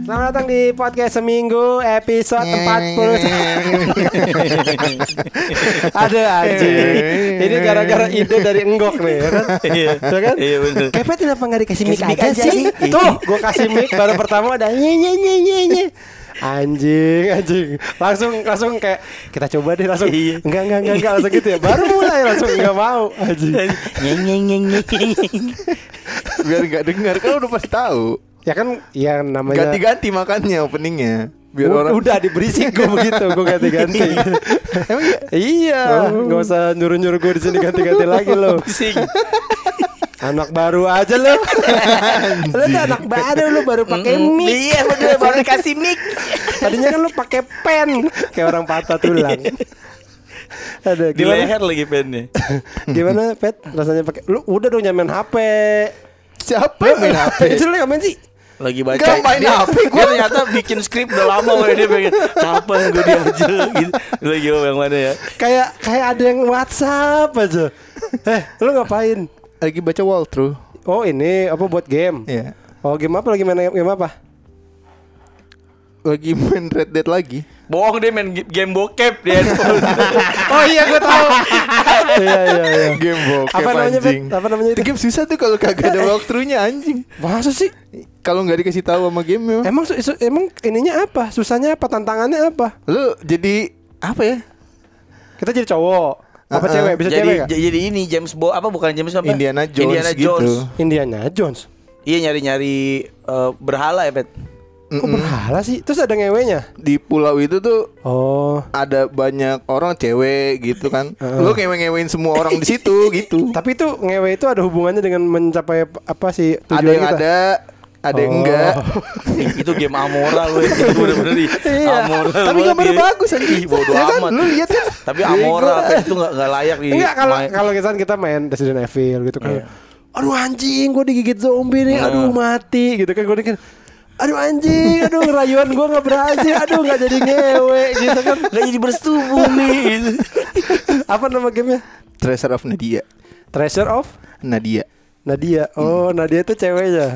Selamat datang di podcast seminggu episode 40. Ada aja. Ini gara-gara ide dari Enggok nih, ya kan? Iya kan? Iya benar. Kepet kenapa nggak dikasih mic aja sih? Tuh, gue kasih mic baru pertama ada nye. Anjing. Langsung kayak kita coba deh langsung. Enggak langsung gitu ya. Baru mulai langsung enggak mau. Anjing. Nye. Biar enggak dengar kan udah pasti tahu. Ya kan ya namanya ganti-ganti makannya openingnya. Biar orang udah diberisik gue begitu, gue ganti-ganti. Emang iya, nggak usah nyuruh-nyuruh gue di sini ganti-ganti lagi lo. Anak baru aja lo. Lo tuh anak baru pakai mic. Iya bener, baru dikasih mic. Tadinya kan lo pakai pen kayak orang patah tulang. Ada di leher lagi pennya. Gimana Pet? Rasanya pakai lu udah dong nyamain HP. Siapa yang main HP? Itu lo ngapain sih? Lagi baca. Gak main HP Gue ternyata bikin skrip udah lama. Dia pengen kapan gue diajar gitu. Lagi yang mana ya? Kayak ada yang WhatsApp aja. Lu ngapain? Lagi baca walkthrough. Oh ini apa buat game? Iya. Oh game apa lagi main game apa? Lagi main Red Dead lagi. Bohong, dia main game bokep dia. Oh iya gue tahu. Iya. Game bokep Apa namanya, anjing. Apa namanya itu? Game susah tuh kalau kagak ada walkthrough-nya anjing. Masa sih? Kalau nggak dikasih tahu sama game Emang ininya apa? Susahnya apa? Tantangannya apa? lu jadi apa ya? Kita jadi cowok. Apa cewek? Bisa jadi, cewek gak? Jadi ini James Bond apa bukan James apa? Indiana Jones gitu. Indiana Jones. Iya nyari berhala ya Pet. Kok berhala sih? Terus ada ngewenya? Di pulau itu tuh ada banyak orang cewek gitu kan. Lu ngewe-ngewein semua orang di situ gitu. Tapi itu ngewe itu ada hubungannya dengan mencapai apa sih tujuan Ada yang kita? ada yang enggak. Itu game Amora loh. Itu bener-bener Iya. Amora. Tapi gambarnya bagus anjing. Bodoh Ya kan? amat. Lu lihat kan? Tapi Amora itu enggak layak di. Enggak kalau kita main Resident Evil gitu kan. Iya. Aduh anjing, gue digigit zombie nih. Aduh mati gitu kan. Gue kan aduh anjing, rayuan gue gak berhasil. Aduh gak jadi ngewe gitu kan. Gak jadi bersetubuh nih. Apa nama gamenya? Treasure of Nadia. Treasure of Nadia. Oh Nadia itu ceweknya.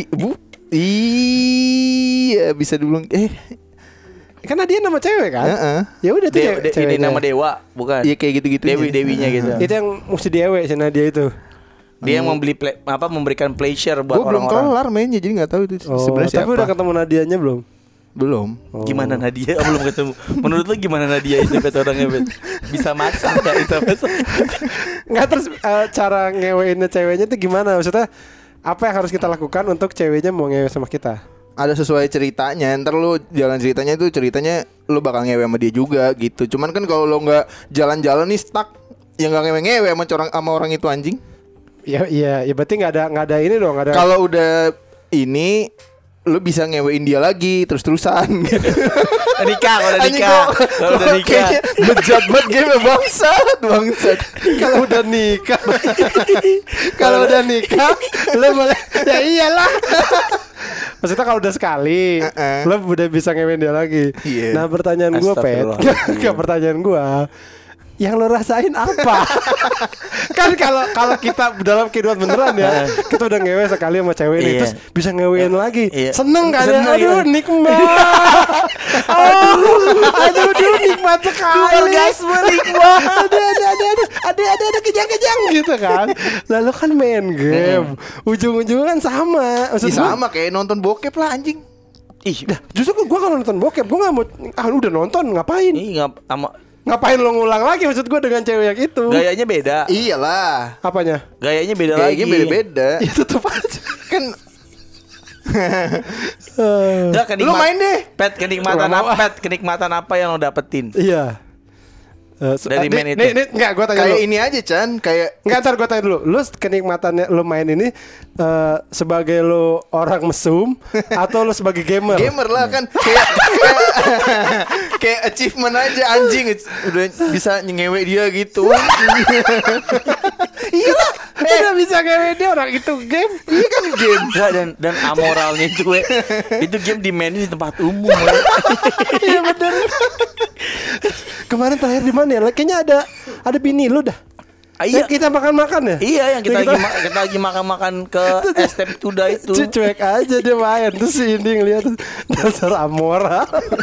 Iya bisa dulu. Kan Nadia nama cewek kan? Ya udah tuh Ini ceweknya. nama dewa bukan? Iya kayak gitu-gitu. Dewinya gitu. Itu yang mesti diewe si Nadia itu. Dia yang memberikan pleasure buat Gua belum orang-orang. kelar mainnya jadi nggak tahu itu sebenarnya siapa. Tapi udah ketemu Nadianya belum? Belum. Gimana Nadia? Belum ketemu. Menurut lu gimana Nadia itu Pet orangnya Pet? Bisa masak enggak bisa masak? Enggak terus cara ngeweinnya ceweknya itu gimana? Maksudnya apa yang harus kita lakukan untuk ceweknya mau ngewe sama kita? Ada sesuai ceritanya. Ntar lu jalan ceritanya lu bakal ngewe sama dia juga gitu. Cuman kan kalau lu nggak jalan-jalan nih stuck, ya nggak ngewe sama orang itu anjing. Ya berarti nggak ada ini dong, nggak ada. Kalau udah ini lu bisa ngewein dia lagi terus-terusan gitu. Kalau udah nikah. Bejat banget game bangsat. Kalau udah nikah, lo boleh. Ya iyalah. Maksudnya kalau udah sekali, lo udah bisa ngewein dia lagi. Yeah. Nah pertanyaan gue Pet, pertanyaan gue, yang lo rasain apa? Kan kalau kita dalam kehidupan beneran ya, kita udah ngewe sekali sama cewek ini, terus bisa ngewein lagi, seneng kan ya? Aduh nikmat. Aduh nikmat sekali. Orgasme nikmat. Ada kejang-kejang gitu kan. Lalu kan main game, ujung-ujungnya kan sama. Sama kayak nonton bokep lah anjing. Justru gue kalau nonton bokep gue nggak mau. Udah nonton ngapain? Ngapain lo ngulang lagi maksud gue dengan cewek yang itu? Gayanya beda. Iyalah. Apanya? Gayanya beda lagi. Beda-beda. Ya tetep aja. Kan lu main deh. Pet kenikmatan apa yang lo dapetin? Iya. Dari main itu. Nih, enggak, gue tanya Kayak dulu. ini aja Chan. Kayak Enggak, ntar gue tanya dulu. Lu kenikmatannya lu main ini sebagai lu orang mesum atau lu sebagai gamer? gamer lah kan. Kayak achievement aja anjing. Udah bisa ngewe dia gitu. Iyalah, udah bisa ngewe dia orang itu game. Iya kan game. Enggak, dan amoralnya itu itu game dimainin di tempat umum. Iya bener. Kemarin terakhir di mana ya? Kayaknya ada bini lu dah. Iya. Yang kita makan-makan ya? Iya, yang kita lagi makan-makan ke STM Tuda itu. Cuek aja dia main. Terus si Indi ngeliat dasar Amora.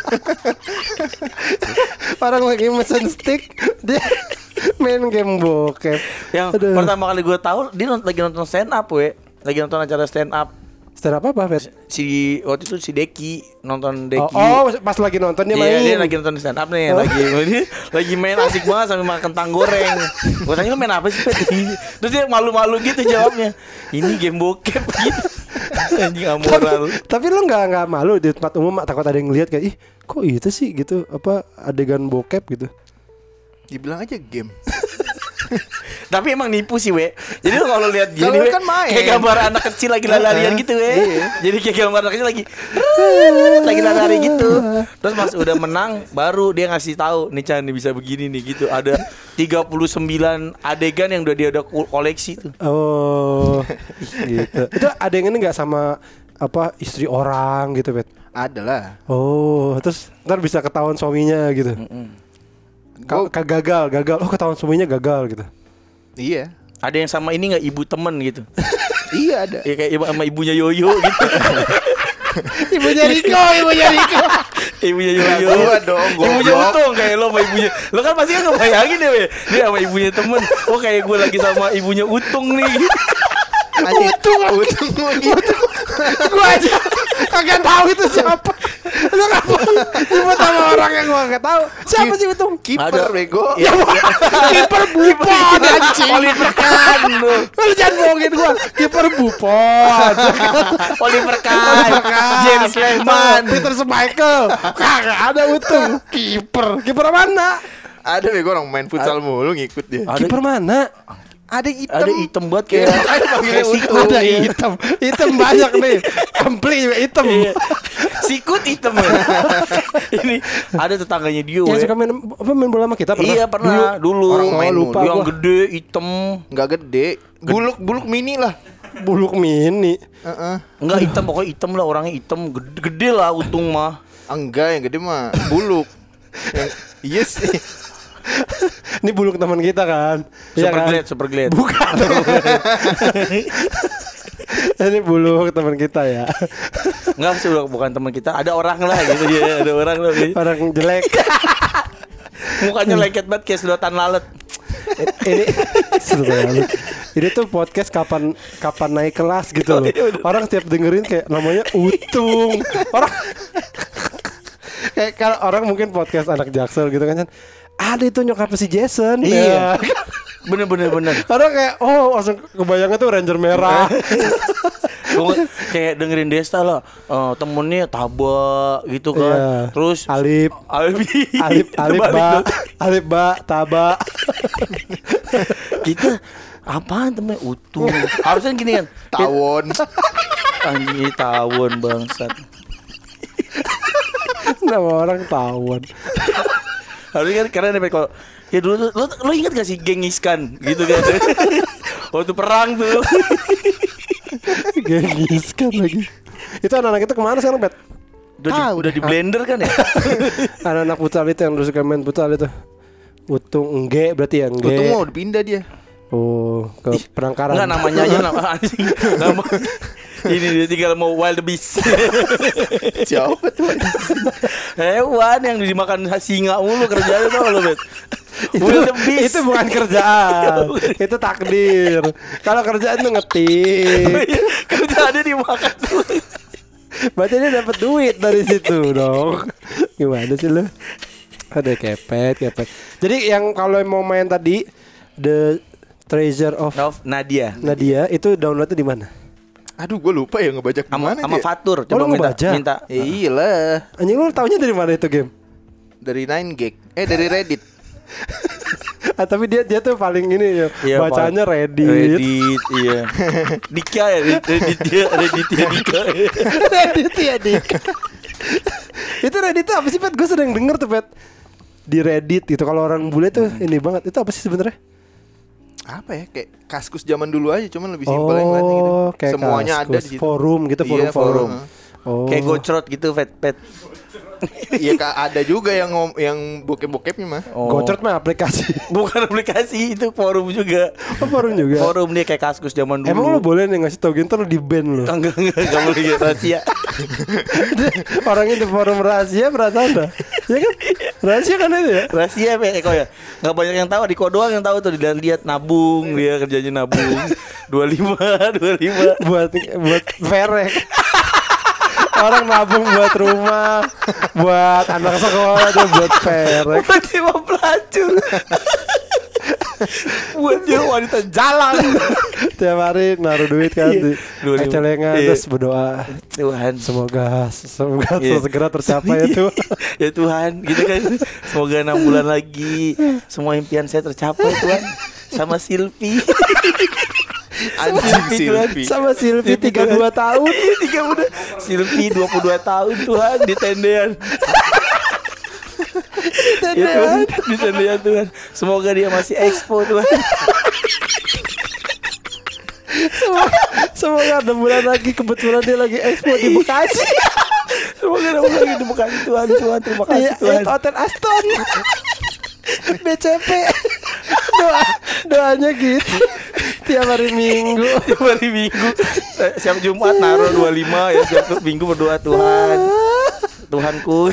Orang lagi mesen stick, dia main game bokep. Yang pertama kali gue tahu dia lagi nonton stand up, lagi nonton acara stand up. Stand up apa, Fet? Si waktu itu si Deki nonton Deki. Oh, pas lagi nonton dia main. Iya, dia lagi nonton stand up nih, lagi main asik banget sambil makan kentang goreng. Gue tanya lu main apa sih, Fet? Terus dia malu-malu gitu jawabnya. Ini game bokep gitu. Anjing amoral. Tapi lu enggak malu di tempat umum takut ada yang ngeliat kayak ih, kok itu sih gitu, apa adegan bokep gitu. Dibilang aja game. Tapi emang nipu sih, Jadi lu kalau lihat gini, kan main. kayak gambar anak kecil lagi lari-larian gitu, Jadi kayak gambar anak kecil lagi lari gitu. Terus pas udah menang baru dia ngasih tahu, nih Chan bisa begini nih gitu. Ada 39 adegan yang udah dia udah koleksi tuh. Oh. Gitu. Itu adegan ini enggak sama apa istri orang gitu, Bet? Adalah. Oh, terus ntar bisa ketahuan suaminya gitu. Gagal. Oh, ketahuan suaminya gagal gitu. Iya. Ada yang sama ini nggak ibu temen gitu? Iya ada. Ya kayak sama ibunya Yoyo gitu. Ibunya Riko. Ibunya Yoyo. Gua dong. Ibunya Utung kayak lo sama ibunya. Lo kan pasti kan ngebayangin deh, dia sama ibunya temen. Oh kayak gue lagi sama ibunya Utung nih. Utung lagi. Gua aja kagak tahu itu siapa. Lu ngapa nyebut sama orang yang gua enggak tahu? Siapa sih Utung? Kiper bego. Kiper Buffon anjing. Oliver Kahn lu. Lu jangan bohongin gua. Kiper Buffon. Oliver Kahn. James Lehman. Peter Schmeichel. Kagak ada Utung. Kiper mana? Ada bego orang main futsal mulu ngikut dia. Kiper mana? Ada hitam. Ada hitam banget kayak Ada hitam banyak nih. Ampli hitam. Sikut hitam ya. Ini ada tetangganya dia. Yang suka main bola sama kita pernah? Iya pernah dulu. Orang main lupa yang gua. gede hitam. Enggak gede. Buluk mini lah. Buluk mini. Enggak hitam, pokoknya hitam lah, orangnya hitam. Gede lah Utung mah. Enggak, yang gede mah buluk. Iya sih. Ini buluk teman kita kan. Iya kan? Super glad. Bukan. Ini buluk teman kita ya. Enggak sih, bukan teman kita. Ada orang lah gitu ya, ada orang lah. Orang jelek. Mukanya lengket banget kayak sedotan lalat. Ini tuh podcast kapan naik kelas gitu loh. Orang setiap dengerin kayak namanya Utung. Orang kayak kalau orang mungkin podcast anak Jaksel gitu kan. Ada itu nyokap si Jason. Iya. Bener. Orang kayak langsung kebayangnya tuh Ranger merah. Gua kayak dengerin Desta lah, temennya Taba gitu kan. Iya. Terus Alip ba Taba. Kita apaan temen Utung? Harusnya gini kan. Tawon. Anjing tawon bangsat. Nama orang tawon. Harusnya kan karena kalau ya dulu tuh lo ingat gak sih geng Iskan gitu kan? Waktu perang tuh. Geng Iskan lagi. Itu anak-anak itu kemana sekarang, Bet? Udah di blender kan ya? Anak-anak futsal itu yang dulu suka main futsal itu. Utung Engge berarti ya Engge. Utung mau dipindah dia. Oh, ke Penangkaran. Enggak, namanya aja nama anjing. Nama ini dia tinggal mau wild beast. Siapa tuh? Hewan yang dimakan singa mulu kerjanya tau lo, Bet. Itu bukan kerjaan. Itu takdir. Kalau kerjaan tuh ngetik. Kerjaannya dimakan tuh. Berarti dia dapat duit dari situ dong. Gimana sih lo? Ada kepet. Jadi yang kalau mau main tadi The Treasure of Nadia itu downloadnya di mana? Aduh, gue lupa ya ngebajak sama mana dia. Fatur. Oh, Coba minta. Iyalah. Anjing, lu taunya dari mana itu game? Dari 9gag. Dari Reddit. Tapi dia tuh paling ini ya, Iya, bacanya Reddit. Iya. Dika ya, Reddit ya Dika. Reddit ya Dika. Itu Reddit tuh apa sih, Pet? Gue sering denger tuh, Pet. Di Reddit gitu, kalau orang bule tuh ini banget. Itu apa sih sebenarnya? Apa ya, kayak Kaskus zaman dulu aja, cuman lebih simpel yang lainnya gitu. Kayak semuanya Kaskus, ada di situ. forum gitu, Iya, forum. forum. Oh. Kayak Gocrot gitu, Pet. Iya ada juga yang bokep-bokepnya mah. Gocret mah aplikasi. Bukan aplikasi, itu forum juga. Forum juga. Forum dia kayak Kaskus zaman dulu. Emang lo boleh nih ngasih tau gitu lo di ban lo. Enggak boleh gitu rahasia. Orang itu forum rahasia perasaan dah. Ya kan? Rahasia kan itu ya? Rahasia Eko ya. Enggak banyak yang tahu, Diko doang yang tahu tuh, dilihat nabung, dia kerjanya nabung. 25 buat verek. Orang nabung buat rumah, buat anak sekolah, dia buat verek. Buat dia pelacur. Buat dia wanita jalan. Tiap hari naruh duit kan di celengan, terus berdoa, Tuhan semoga segera tercapai ya Tuhan. Ya Tuhan, gitu kan. Semoga 6 bulan lagi semua impian saya tercapai Tuhan. Sama Silvi. Sama Silvi 32 tahun. Silvi 22 tahun Tuhan di tendean. Di tendean Tuhan. Semoga dia masih expo Tuhan. Semoga 6 bulan lagi kebetulan dia lagi expo di Bekasi. Semoga 6 bulan lagi di Bekasi Tuhan. Terima kasih Tuhan. Hotel Aston. BCP. Doanya gitu. Tiap hari Minggu. Siap Jumat naruh 25 ya, siap Minggu berdoa Tuhan. Tuhanku.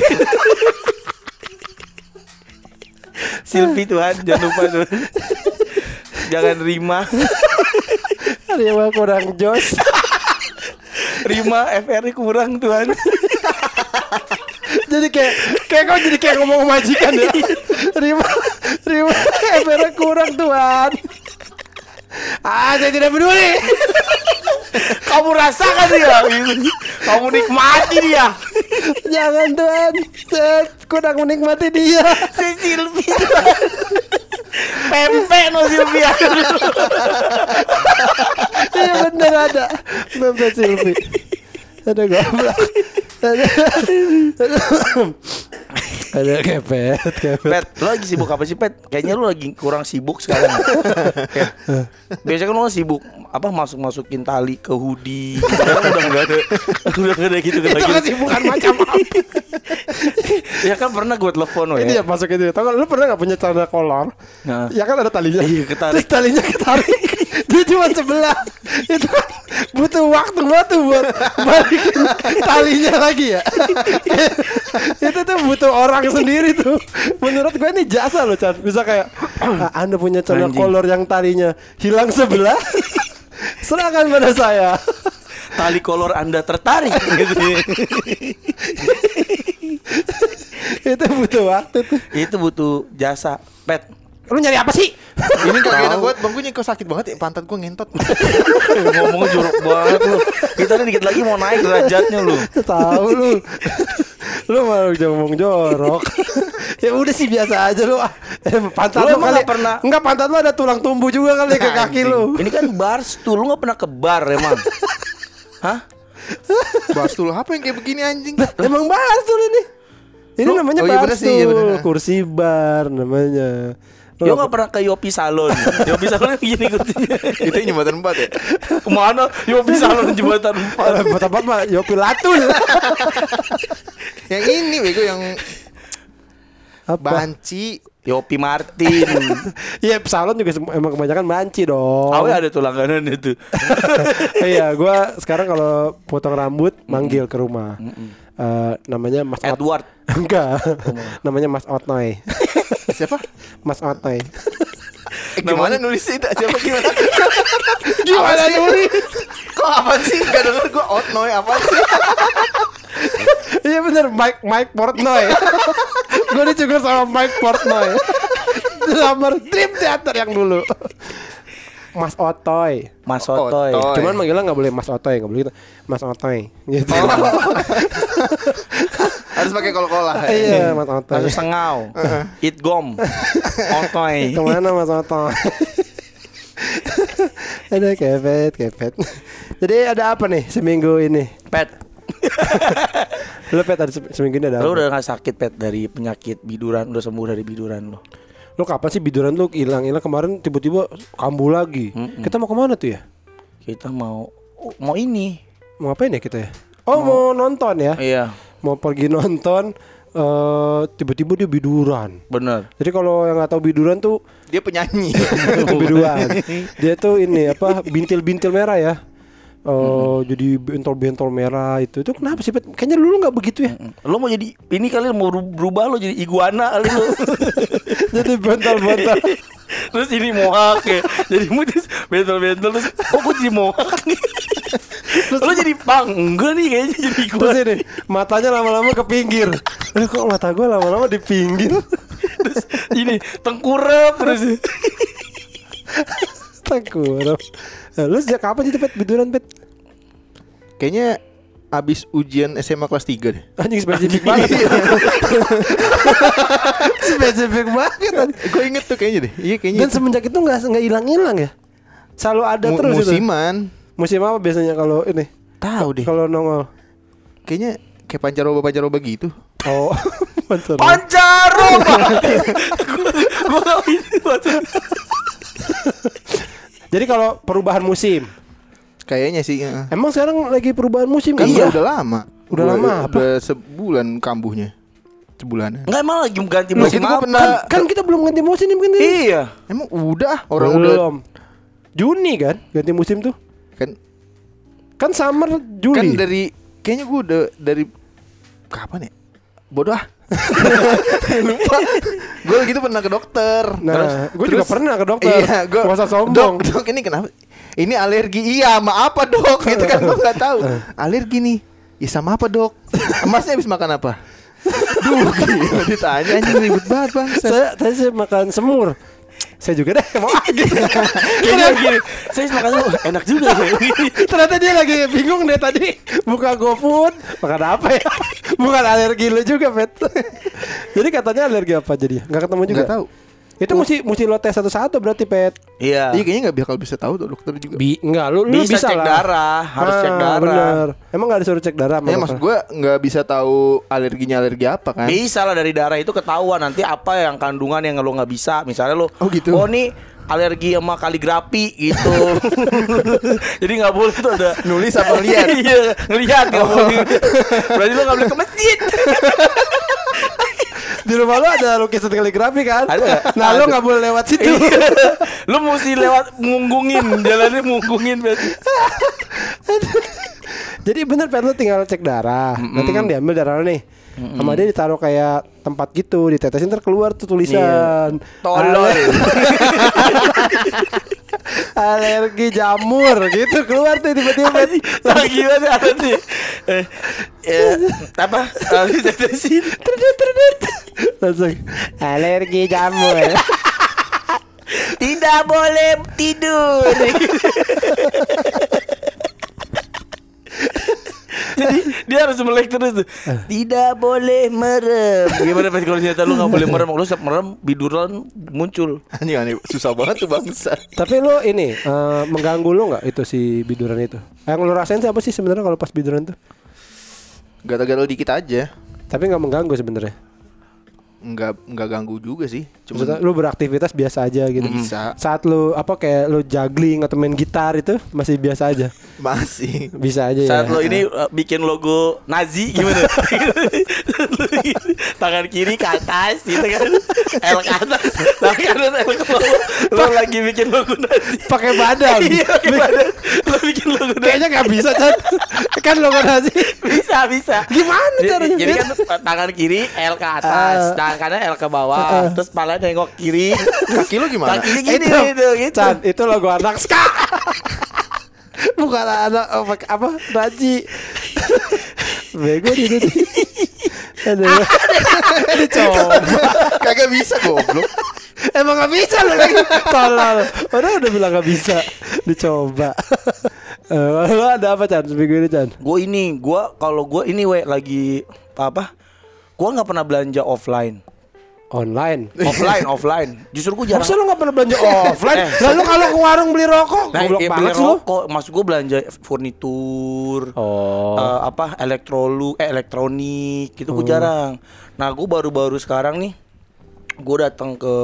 Silvi Tuhan, jangan lupa Tuhan. Jangan Rima. Rima kurang jos. Rima FR kurang Tuhan. Jadi kayak kau jadi kayak ngomong majikan ya. Rima FR kurang Tuhan. Saya tidak peduli. Kamu rasakan dia. Kamu nikmati dia. Jangan Tuhan, saya kurang menikmati dia. Si Silvi pempek no Silvia. Iya bener ada pempek Silvi. Ada goblok. Ada kepet. Pet, lo lagi sibuk apa sih Pet? Kayaknya lo lagi kurang sibuk sekarang. Biasanya kan lo sibuk masukin tali ke hoodie. Sekarang udah nggak ada gitu lagi. Itu kesibukan macam apa? Ya kan pernah gue telepon lo ya. Iya masuk itu. Tahu kan lo pernah nggak punya celana kolor? Nah. Ya kan ada talinya. Iya ketarik. Terus talinya ketarik. Dia cuma sebelah. Itu kan butuh waktu buat balikin talinya lagi ya. Itu tuh butuh orang sendiri tuh. Menurut gue ini jasa loh Chan. Bisa kayak Anda punya celana kolor yang talinya hilang sebelah. Serahkan pada saya. Tali kolor Anda tertarik gitu. Itu butuh waktu tuh. Itu butuh jasa Pet. Lu nyari apa sih? Ini kagak enak banget, bangkunya kok sakit banget ya, pantat gua ngentot. Ngomongnya jorok banget lu. Kita nih dikit lagi mau naik derajatnya lu. Tahu lu. Lu malah ngomong jorok. Ya udah sih biasa aja lu. Pantat lu kali pernah. Enggak, pantat lu ada tulang tumbuh juga kali ke kaki lu. Ini kan barstool, lu enggak pernah ke bar emang. Hah? Barstool apa yang kayak begini anjing? Emang barstool ini. Ini namanya barstool, kursi bar namanya. Dia gak pernah ke Yopi Salon. Yopi Salon begini kursinya. Itu jembatan 4 ya? Kemana Yopi Salon jembatan 4? Jembatan 4 mah Yopi Latul. Yang ini bego yang apa? Banci. Yopi Martin. Iya, salon juga emang kebanyakan banci dong. Awe ada tuh langganan itu. Iya, gua sekarang kalau potong rambut manggil ke rumah. Namanya Mas Edward. Enggak. Namanya Mas Otnoy. Siapa? Mas Otnoy. Gimana nulisnya itu? Siapa gimana? Gimana nulis? Kok apa sih? Gak denger gue Otnoy apa sih? Iya bener, Mike Portnoy. Gue dicukur sama Mike Portnoy. Drummer Dream Theater yang dulu. Mas Otoy. Mas Otoy. Cuman manggilnya gak boleh Mas Otoy, gak boleh gitu. Mas Otoy gitu. Harus pakai kol-kolah. Iya, Mas Otoy. Harus sengau. Itgom. Otoy. Kemana Mas Otoy? Ada kepet. Jadi ada apa nih seminggu ini? Pet. Lu Pet ada seminggu ini ada apa? Lu udah gak sakit Pet dari penyakit biduran? Udah sembuh dari biduran lu? Lu kapan sih biduran lu hilang kemarin tiba-tiba kambuh lagi. Kita mau kemana tuh ya? Kita mau ini. Mau ngapain ya kita ya? Oh mau nonton ya? Iya. mau pergi nonton tiba-tiba dia biduran. Bener. Jadi kalau yang nggak tahu biduran tuh Dia penyanyi. itu biduan. Dia tuh ini apa bintil-bintil merah ya. Jadi bentol-bentol merah itu kenapa sih Pet? Kayaknya dulu nggak begitu ya. Lo mau jadi ini kali mau berubah lo jadi iguana kali lo. Jadi bentol-bentol. Terus ini mohak ya. Jadi mutis bentol-bentol terus kok gue jadi mohak nih. Lo jadi pang enggak nih kayaknya jadi Terus iguana. ini matanya lama-lama ke pinggir. Kok mata gue lama-lama di pinggir? Terus ini tengkurap terus. Tengkurap. Lu sejak kapan sih Pet biduran Pet? Kayaknya abis ujian SMA kelas 3 deh. Anjing spesifik banget. Spesifik banget. Gue inget tuh kayaknya deh. Iya kayaknya. Dan semenjak itu nggak hilang-hilang ya. Selalu ada terus musiman. itu. Musim apa biasanya kalau ini? Tahu deh. Kalau nongol. Kayaknya kayak pancaroba gitu. Oh, Pancaroba. Gue tahu ini. Jadi kalau perubahan musim, Kayaknya sih. emang sekarang lagi perubahan musim Kan kan? udah lama. Udah lama apa? Udah sebulan kambuhnya. Sebulan. Enggak emang lagi ganti Nah, musim gitu gua apa? pernah. Kan kita belum ganti musim kan? Iya. Emang udah orang udah Belum. Juni kan ganti musim tuh. kan Summer Juli. kan dari kayaknya gue udah dari kapan ya? Bodoh ah. Lupa. Gue gitu pernah ke dokter. Nah, gue juga pernah ke dokter. Iya, gue Gak usah sombong. Dok, ini kenapa? Ini alergi. Iya, sama apa dok? Gitu kan gue nggak tahu. Alergi nih. Ya sama apa dok? Emasnya habis makan apa? Duh, gila ditanya anjing ribet banget bang. Tadi saya makan semur. Saya juga deh mau gitu. Kayaknya gini. Saya makan lu enak juga ya. Ternyata dia lagi bingung deh tadi. Buka GoFood makan apa ya? Bukan alergi lu juga Pet. Jadi katanya alergi apa jadi? Gak ketemu juga? Nggak tahu. Itu mesti lo tes satu-satu berarti Pet. Iya. Iya kayaknya nggak bakal bisa tahu tuh dokter juga. Enggak, lu Bisa bisa cek lah. darah, harus cek darah. Bener. Emang gak disuruh cek darah? Ya maksud gue nggak bisa tahu alerginya alergi apa kan? Bisa lah dari darah itu ketahuan nanti apa yang kandungan yang lo nggak bisa. Misalnya lo, Oh, gitu. oh nih alergi sama kaligrafi gitu. Jadi nggak boleh tuh ada Nulis apa lihat? Iya ngelihat nggak boleh. Berarti lo nggak boleh ke masjid. Di rumah lu ada lukisan kaligrafi kan? Ada. Nah lu gak boleh lewat situ. Lo mesti lewat munggungin, jalannya munggungin berarti. Jadi bener Pet, lu tinggal cek darah. Nanti kan diambil darah lu nih. Sama dia ditaruh kayak tempat gitu, ditetesin ntar keluar tuh tulisan. Tolol. Alergi jamur gitu keluar tuh tiba-tiba. Lagi gimana ada sih? Apa? Ditetesin. Langsung alergi jamur. Tidak boleh tidur. Jadi dia harus melek terus tuh. Tidak boleh merem. Gimana Pet kalau ternyata lu gak boleh merem? Lu setiap merem biduran muncul. Anjing susah banget tuh bangsa. Tapi lu ini mengganggu lu nggak itu si biduran itu? Yang lu rasain sih apa sih sebenarnya kalau pas biduran tuh? Gatal-gatal dikit aja. Tapi nggak mengganggu sebenarnya. Enggak ganggu juga sih. Maksudnya lu beraktivitas biasa aja gitu. Bisa. Saat lu apa kayak lu juggling atau main gitar itu masih biasa aja. Masih. Bisa aja Saat ya. lo ini bikin logo Nazi gimana? Tangan kiri ke atas gitu kan. L ke atas, tangan kanan L ke bawah. Lo lagi bikin logo Nazi. Pakai badan. Iya, pakai badan. Lo bikin logo Nazi. Kayaknya nggak bisa Chan. Kan lo kan sih. Bisa. Gimana caranya? Jadi kan tangan kiri L ke atas, tangan kanan L ke bawah, terus pala nengok kiri. Kaki lu gimana? Kakinya gini Itu, gitu. Chan, itu logo anak ska. Bukan anak apa? Raji. Bego dia tuh. Aduh. Dicoba. Kagak bisa goblok. Emang gak bisa lo lagi. Tolol. Udah bilang gak bisa. Dicoba. Lo ada apa Chan seminggu ini Chan? Kalau gue ini lagi apa? Gue nggak pernah belanja offline. Online. Offline. Justru gue jarang. Masa lo gak pernah belanja offline? Lalu kalau ke warung beli rokok, goblok beli banget sih lo. rokok, maksud gue belanja furnitur, elektronik, gitu gue jarang. Nah gue baru-baru sekarang nih, gue datang ke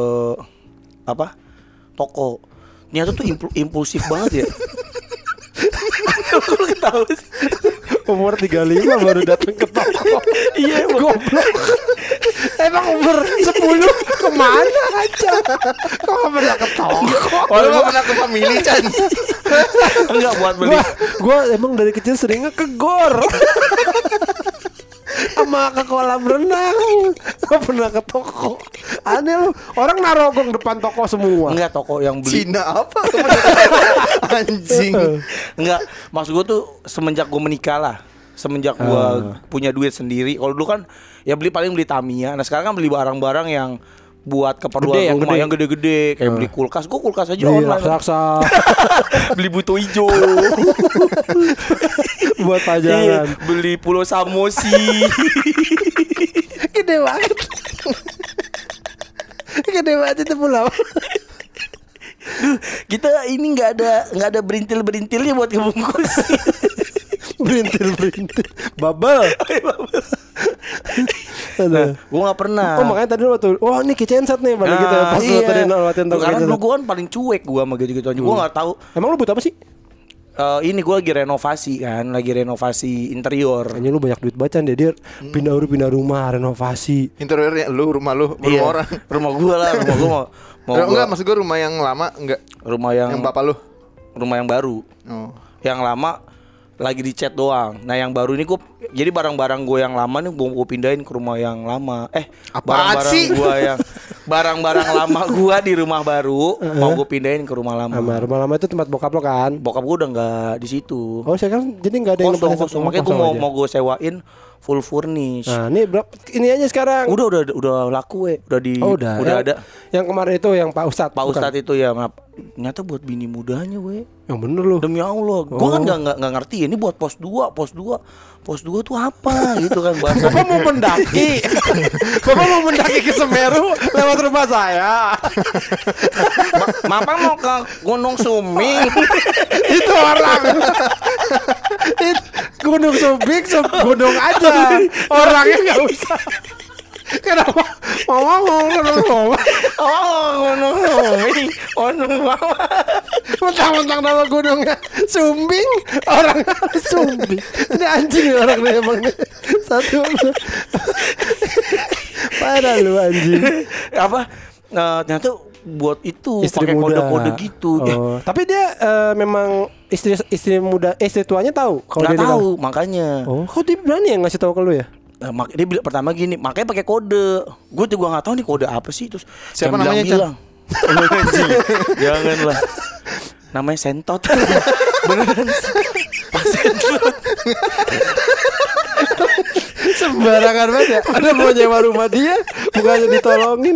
toko. Ternyata tuh impulsif banget ya. Kok ketawa sih? Umur 35 baru datang ke toko. Iya, goblok. Emang umur 10 kemana aja? Kok gak pernah ke toko? Oh, lu gak pernah ke family, Chan? Enggak buat beli. Gua emang dari kecil seringnya ke gor. Sama ke kolam renang. Gak pernah ke toko. Aneh lu. Orang naruh gong depan toko semua. Enggak, toko yang beli. Cina apa? Anjing. Enggak, maksud gue tuh semenjak gue menikah lah. Semenjak gue punya duit sendiri. Kalau dulu kan ya paling beli Tamiya. Nah sekarang kan beli barang-barang yang buat keperluan rumah yang gede-gede. Kayak beli kulkas. Gue kulkas aja online. Raksasa. Beli buto hijau. Buat pajangan. Beli pulau Samosi. Gede banget. Gede banget itu pulau. Kita ini nggak ada berintil-berintilnya buat ngebungkus. Berintil bubble. Nah, gue nggak pernah. Oh makanya tadi waktu ini kicensat nih balik gitu. Pas lu tadi latihan toko. Karena dulu gue kan paling cuek gue sama gitu-gitu aja. Gue nggak tahu. Emang lu buat apa sih? Ini gue lagi renovasi interior. Kayaknya lu banyak duit bacan deh. Dia pindah rumah, renovasi. Interiornya lu, rumah orang. Rumah gue lah, rumah gue mau enggak, maksud gue rumah yang lama enggak. Rumah yang bapak lu. Rumah yang baru. Oh. Yang lama lagi dicat doang. Nah yang baru ini gue, jadi barang-barang gue yang lama nih gue pindahin ke rumah yang lama. Barang-barang lama gue di rumah baru mau gue pindahin ke rumah lama. Rumah lama itu tempat bokap lo kan? Bokap gue udah nggak di situ. Oh sekarang jadi nggak ada yang kosong. Makanya gue mau gue sewain full furnish. Nah ini ini aja sekarang. Udah laku udah ada. Yang kemarin itu yang Pak Ustadz itu ya, ternyata buat bini mudanya yang bener loh. Demi Allah, gua kan nggak ngerti ini buat pos 2 tuh apa gitu kan bahasa. Bapak mau mendaki. Bapak mau mendaki ke Semeru lewat rumah saya. Bapak mau ke Gunung Sumbing. Itu orang. Gunung Sumbing gunung aja. Orangnya nggak usah. Kenapa? Gunung Sumbing. Mentang-mentang nama gunungnya Sumbing, orang Sumbing. Ini anjing nih orang nih emang nih. Satu. Parah lu anjing. Apa? Ternyata buat itu pakai kode-kode gitu. Tapi dia memang istri muda, istri tuanya tahu kalau dia tahu makanya. Kok dia berani ya ngasih tahu ke lu ya? Dia bilang pertama gini, makanya pakai kode. Gue juga nggak tahu nih kode apa sih. Terus siapa namanya bilang, janganlah. Namanya Sentot. Beneran. Pak Sentot. Sembarangan banget ya. Ada mau nyewa rumah dia, bukannya ditolongin.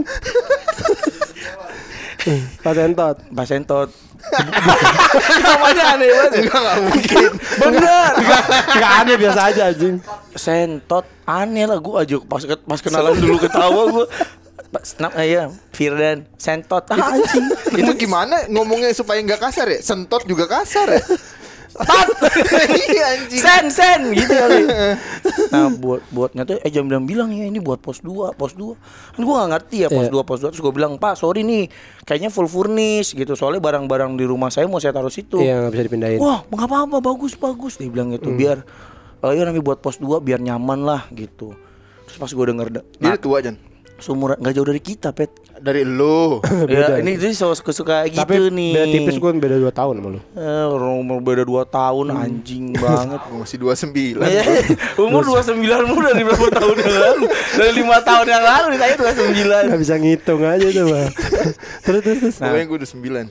Pak Sentot. Namanya aneh banget. Enggak mungkin. Bener. Enggak aneh, biasa aja anjing. Sentot aneh lah, gue aja pas kenalan dulu ketawa gue. Ya Firdan Sentot anjing. Itu gimana ngomongnya supaya nggak kasar ya? Sentot juga kasar ya? Iya anjing. Sen gitu kali. Nah buatnya tuh jam bilang ya ini buat pos 2. Kan gue gak ngerti ya pos 2. Terus gue bilang, Pak sorry nih, kayaknya full furnish gitu. Soalnya barang-barang di rumah saya mau saya taruh situ. Iya gak bisa dipindahin. Wah gak apa-apa, bagus. Dia bilang gitu, biar nanti buat pos 2 biar nyaman lah gitu. Terus pas gue denger dia tua Jan. Seumuran gak jauh dari kita, Pet. Dari lu. Ya, ini dia suka gitu. Tapi nih. Tapi beda tipis, gue beda 2 tahun sama lu. Umur beda 2 tahun anjing banget. Masih 29. Umur 29 mu dari berapa tahun yang lalu? Dari 5 tahun yang lalu ditanya 29. Gak bisa ngitung aja tuh, Bang. Terus. Pokoknya gue udah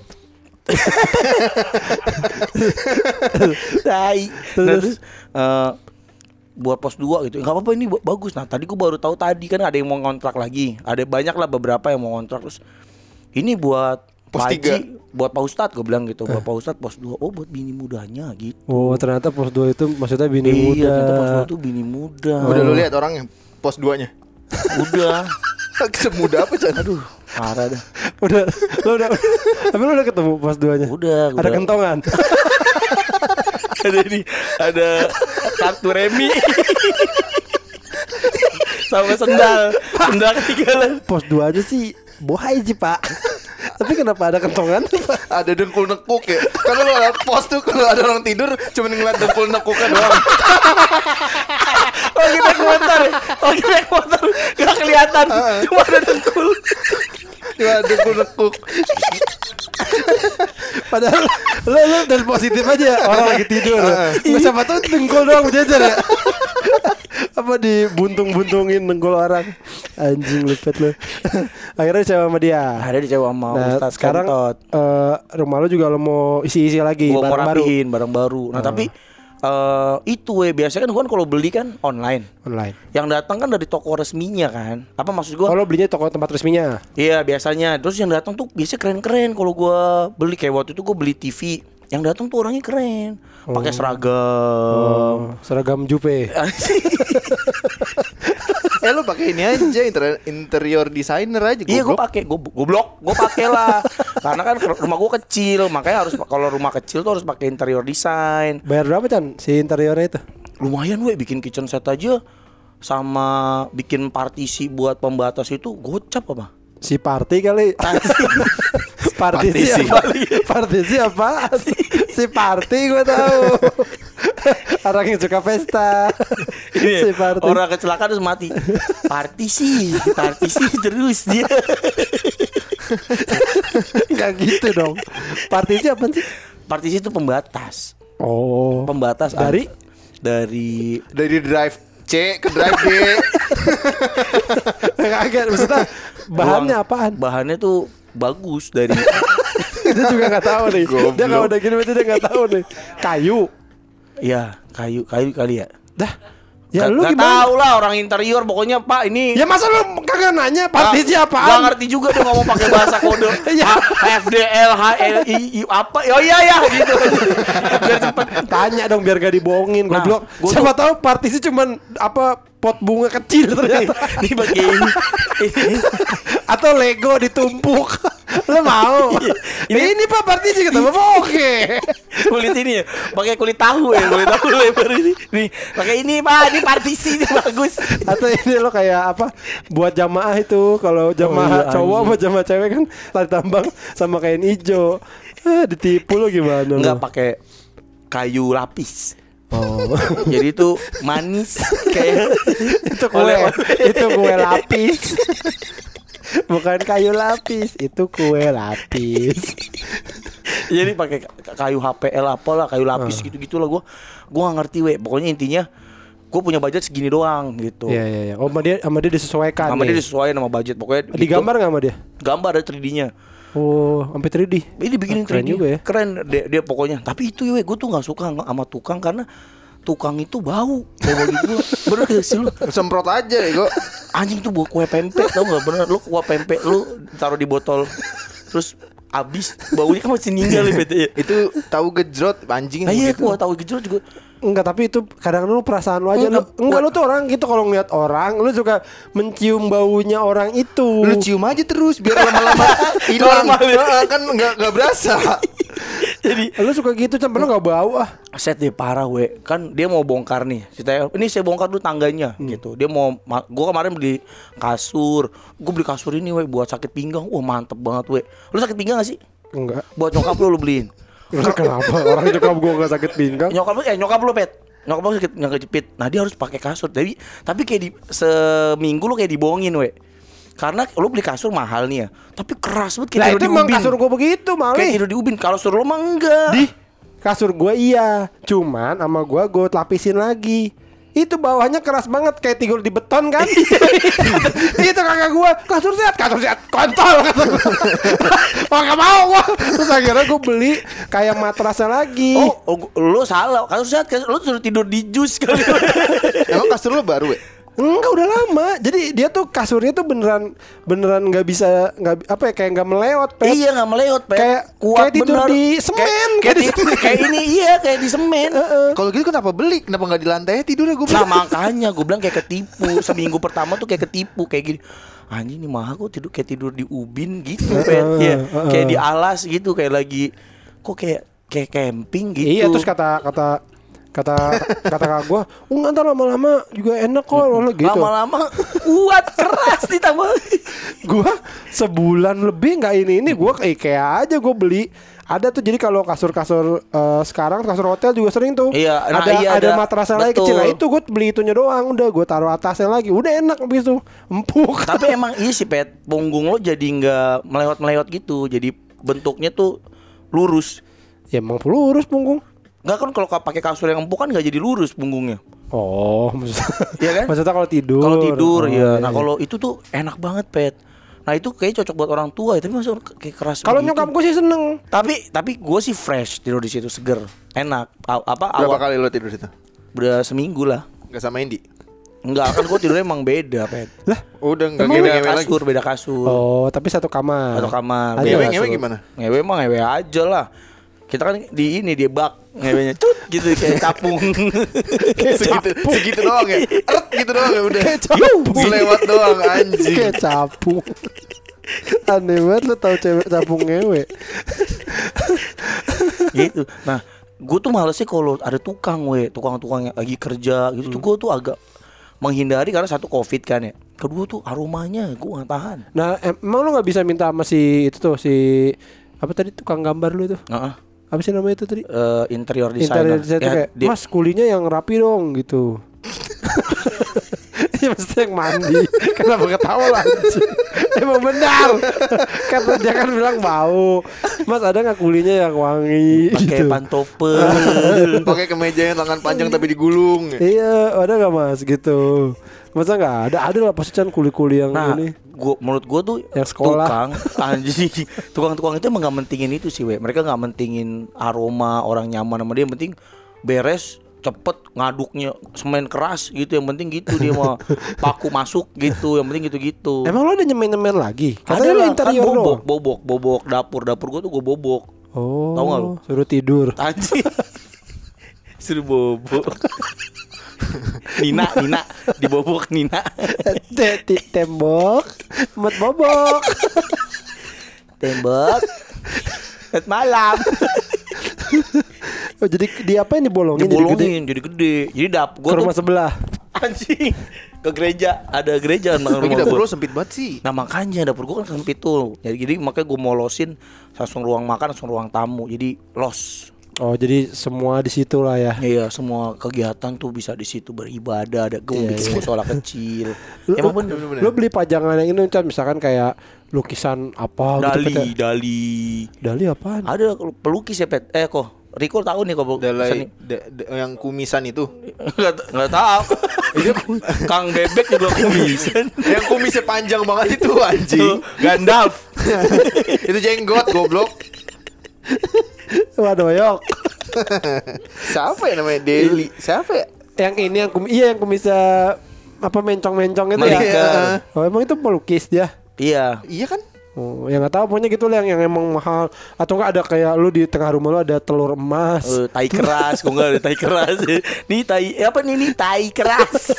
9. Terus buat pos 2 gitu. Enggak apa-apa ini bagus. Nah, tadi gue baru tahu tadi kan ada yang mau ngontrak lagi. Ada banyak lah beberapa yang mau ngontrak. Terus ini buat pos 3. Buat Pak Ustadz gue bilang gitu. Buat Pak Ustadz pos 2. Oh, buat bini mudanya gitu. Oh, ternyata pos 2 itu maksudnya bini muda. Iya, ternyata pos 2 itu bini muda. Udah lu lihat orangnya pos 2-nya? Udah. Semudah apa, Chan? Aduh, parah dah. Udah. Tapi lu udah ketemu pos 2-nya? Udah. Ada kentongan. Ada kartu remi. Sama sendal ketinggalan. Pos 2 aja sih bohai sih, Pak. Tapi kenapa ada kentongan? Ada dengkul nekuk ya. Karena lo liat pos tuh kalau ada orang tidur cuma ngeliat dengkul nekuknya doang. Lagi naik motor gak kelihatan, cuma ada dengkul. Cuma dengkul nekuk. Padahal lo dan positif aja orang lagi tidur. Nggak siapa tahu dengkul doang berjajar ya. Apa dibuntung-buntungin dengkul orang. Anjing lupet lo. Akhirnya dicewa sama dia. Ada dicewa sama Ustaz sekarang Kentot. Rumah lo juga lo mau isi-isi lagi Gua mau barang baru. rapihin barang baru. Nah tapi itu biasanya kan kalau beli kan online. Yang datang kan dari toko resminya kan. Apa maksud gua? Kalau belinya toko tempat resminya. Iya biasanya. Terus yang datang tuh biasanya keren-keren. Kalau gua beli kayak waktu itu gua beli TV. Yang datang tuh orangnya keren. Pakai seragam. Seragam Jupe. Lo pakai ini aja interior designer aja. Iya gue pakai, gue pakai lah. Karena kan rumah gue kecil, makanya harus kalau rumah kecil tuh harus pakai interior design. Bayar berapa Chan si interiornya itu? Lumayan bikin kitchen set aja sama bikin partisi buat pembatas itu gocap apa? Si party kali. Partisi apa? Si party gue tahu. Orang yang suka pesta. Ini si party. Orang kecelakaan terus mati. Partisi terus dia. Enggak gitu dong. Partisi apa sih? Partisi itu pembatas. Oh. Pembatas dari drive C ke drive D. Kaget maksudnya bahannya apaan? Bahannya tuh bagus dari Dia juga nggak tahu nih. Dia kalau udah gini berarti dia nggak tahu nih. Kayu. Iya, kayu kali ya. Dah. Ya lu gak gimana? tahu lah orang interior pokoknya Pak ini. Ya masa lu kagak nanya partisi apaan? Gak ngerti juga dia ngomong pakai bahasa kode. FDL HLI apa? Oh iya gitu. Biar cepet. Tanya dong biar gak dibohongin goblok. Siapa tahu partisi cuman apa pot bunga kecil ternyata. Ini bagian ini. Atau Lego ditumpuk. Lu mau? Ini Pak partisi kata Bapak oke. Kulit ini ya, pakai kulit tahu lebar ini. Nih, pakai ini Pak, ini partisi ini bagus. Atau ini lo kayak apa? Buat jamaah itu kalau jamaah cowok sama jamaah cewek kan tali tambang sama kain hijau. Ditipu lo gimana? Enggak pakai kayu lapis. Oh. Jadi itu manis kayak itu kue lapis. Bukan kayu lapis, itu kue lapis. Jadi pakai kayu HPL apalah, kayu lapis gitu-gitu lah gua enggak ngerti pokoknya intinya gue punya budget segini doang gitu. Iya. Oh, sama dia disesuaikan. Sama dia disesuaikan sama budget pokoknya. Digambar enggak sama dia? Gambar ada 3D-nya. Oh, sampai 3D. Ini bikinin 3D keren juga ya. Keren dia pokoknya. Tapi itu gue tuh enggak suka sama tukang karena tukang itu bau gitu. Bener gak sih lu? Semprot aja ya anjing tuh buat kue pempek tau gak? Bener lu kue pempek lu taruh di botol terus abis baunya kan masih ninggal ya. Itu tahu gejrot anjing. Nah iya gua tahu gejrot juga. Enggak, tapi itu kadang lu perasaan lu aja. Enggak, lu tuh orang gitu kalau ngeliat orang lu suka mencium baunya orang itu. Lu cium aja terus biar lama-lama hilang. Kan enggak berasa. Jadi lu suka gitu sampai lu enggak bau Set deh parah kan dia mau bongkar nih. Ini saya bongkar dulu tangganya gitu. Dia mau gua kemarin beli kasur. Gua beli kasur ini buat sakit pinggang. Wah, mantep banget Lu sakit pinggang gak sih? Enggak. Buat nyokap lu beliin. Kenapa? Orang nyokap gua enggak sakit pinggang. Nyokap lu Pet. Nyokap lu sakit nyangka jepit. Nah, dia harus pakai kasur. Tapi kayak seminggu lu kayak dibohongin karena lu beli kasur mahal nih ya. Tapi keras banget kayak tidur di ubin. Lah itu emang kasur gua begitu malah. Kayak tidur di ubin. Kalau kasur lu mah enggak. Kasur gua iya. Cuman sama gua lapisin lagi. Itu bawahnya keras banget kayak tidur di beton kan. Itu kakak gua kasur sehat kontol. Wah, gak mau gua. Terus akhirnya gua beli kayak matrasnya lagi. Oh, lu salah. Kasur sehat lu suruh tidur di jus kali. Emang kasur lu baru Enggak, udah lama. Jadi dia tuh kasurnya tuh beneran nggak bisa kayak nggak melewat, Pet. Iya, nggak melewat, Pet. Kayak kuat kayak tidur bener. Di semen. Kayak ini kayak di semen. Kalau gitu kenapa beli? Kenapa nggak di lantai tidurnya gue? Nah, makanya gue bilang kayak ketipu. Seminggu pertama tuh kayak ketipu kayak gini. Anjing nih mahal kok tidur di ubin gitu, Pet. Iya, kayak di alas gitu kayak lagi kok kayak camping gitu. Iya, terus kata Kata kakak gue, ntar lama-lama juga enak kok gitu. Lama-lama kuat keras ditambah. Gue sebulan lebih nggak ini gue ke IKEA aja gue beli. Ada tuh, jadi kalau kasur-kasur sekarang kasur hotel juga sering tuh. Iya, ada matrasnya lagi kecil. Nah itu gue beli itunya doang, udah gue taruh atasnya lagi, udah enak habis itu empuk. Tapi emang iya sih Pet, punggung lo jadi nggak melewat-melewat gitu, jadi bentuknya tuh lurus. Ya emang lurus punggung. Nggak kan kalau pakai kasur yang empuk kan nggak jadi lurus punggungnya. Oh, maksudnya, iya kan? Maksudnya kalau tidur. Kalau tidur ya. Iya. Nah kalau itu tuh enak banget Pet. Nah itu kayak cocok buat orang tua ya, tapi masuk kayak keras. Kalau nyokap gue sih seneng. Tapi gue sih fresh tidur di situ, seger, enak. Berapa kali lo tidur situ? Udah seminggu lah. Gak sama Indi? Enggak, kan gue tidurnya emang beda Pet. Lah, udah nggak beda kasur. Oh, tapi satu kamar. Ngewe gimana? Ngewe mah ngewe aja lah. Kita kan di bak ngewenya cut gitu kayak capung. segitu doang ya. Gitu doang ya udah. Kayak capung. Selewat doang anjing. Kayak capung. Aneh banget lo tau cewek capung ngewe. Gitu. Nah, gue tuh males sih kalau ada tukang yang lagi kerja gitu. Tuh gue tuh agak menghindari karena satu Covid kan ya. Kedua tuh aromanya gue gak tahan. Nah, emang lo gak bisa minta sama si itu tuh, si apa tadi tukang gambar lu itu? Apa sih namanya itu tadi? Interior designer. Ya, kayak, Mas kulinya yang rapi dong gitu. Ya mesti yang mandi. Kenapa ketawa lah? Emang benar. Karena dia kan bilang bau. Mas ada nggak kulinya yang wangi? Pakai gitu. pantopel. Pakai kemeja yang tangan panjang tapi digulung. Iya, ada nggak Mas gitu? Masa nggak ada? Ada lah pasti kan kuli-kuli yang ini. Menurut gue tuh yang sekolah. tukang anjing, tukang-tukang itu emang nggak mentingin itu sih, mereka nggak mentingin aroma orang nyaman sama dia, yang penting beres cepet ngaduknya semen keras gitu, yang penting gitu dia mau paku masuk gitu, yang penting gitu. Emang lo ada nyemen lagi? Katanya lo interior kan bobok dapur gue tuh gue bobok. Oh, tahu nggak lo? Suruh tidur. Anjing. Suruh bobok. Nina dibobok Nina. Tembok mat bobok. Tembok mat malam. Oh, jadi diapain dibolongin jadi gede. Jadi ke rumah sebelah. Anjing. Ke gereja, ada gereja nang rumah dapur gua. lo sempit banget sih. Nah makanya dapur gua kan sempit tuh. Jadi makanya gua molosin langsung ruang makan, langsung ruang tamu. Jadi los. Oh, jadi semua di situ lah ya. Iya, semua kegiatan tuh bisa di situ, beribadah, ada bikin musola kecil. Emang bener. Lo beli pajangan yang ini kan, misalkan kayak lukisan apa Dali apaan? Ada pelukis ya Pet. Riko tahu nih kok yang kumisan itu. Enggak tahu. Itu Kang Bebek juga kumisan. Yang kumisnya panjang banget itu anjing. Gandalf. Itu jenggot goblok. Waduh yok. Siapa ya namanya Deli? Siapa ya? Yang ini yang kumisnya apa mencong-mencong itu ya. Oh, emang itu pelukis dia? Iya. Iya kan? Oh, yang nggak tahu pokoknya gitu lah yang emang mahal, atau enggak ada kayak lu di tengah rumah lu ada telur emas. Tai keras, kok enggak ada tai keras. Nih tai keras.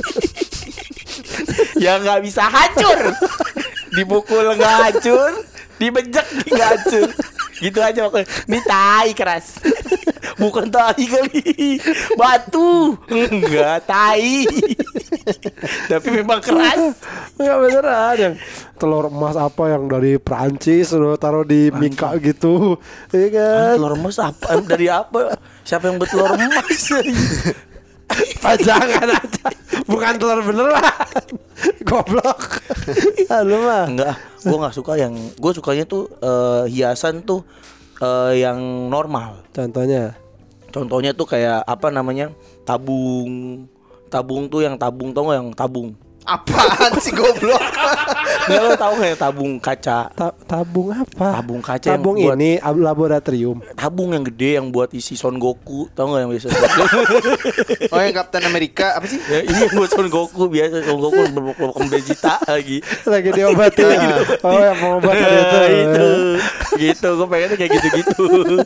Yang nggak bisa hancur. Dipukul nggak hancur, dibejek nggak hancur. Gitu aja pokoknya. Ini tai keras. Bukan tai kali, batu. Enggak, tai. Tapi memang keras. Enggak beneran yang telur emas apa yang dari Perancis lo taruh di Mika gitu. Iya kan? Telur emas apa? Dari apa? Siapa yang buat telur emas? Pajangan aja. Bukan telur beneran. Goblok. Lu mah. Enggak, gua enggak suka yang, gua sukanya tuh hiasan tuh yang normal. Contohnya tuh kayak apa namanya? Tabung tuh yang tabung, tau gak yang tabung? Apaan sih goblok? Nggak, lo tau gak yang tabung kaca? Tabung apa? Tabung kaca. Tabung yang buat ini laboratorium. Tabung yang gede yang buat isi Son Goku, tau gak yang biasa? Oh yang Captain America apa sih? Ya, ini yang buat Son Goku biasa. Son Goku berblok-blok Vegeta lagi diobatin. Oh yang pengobatan itu. Gitu, gue pengennya kayak gitu-gitu.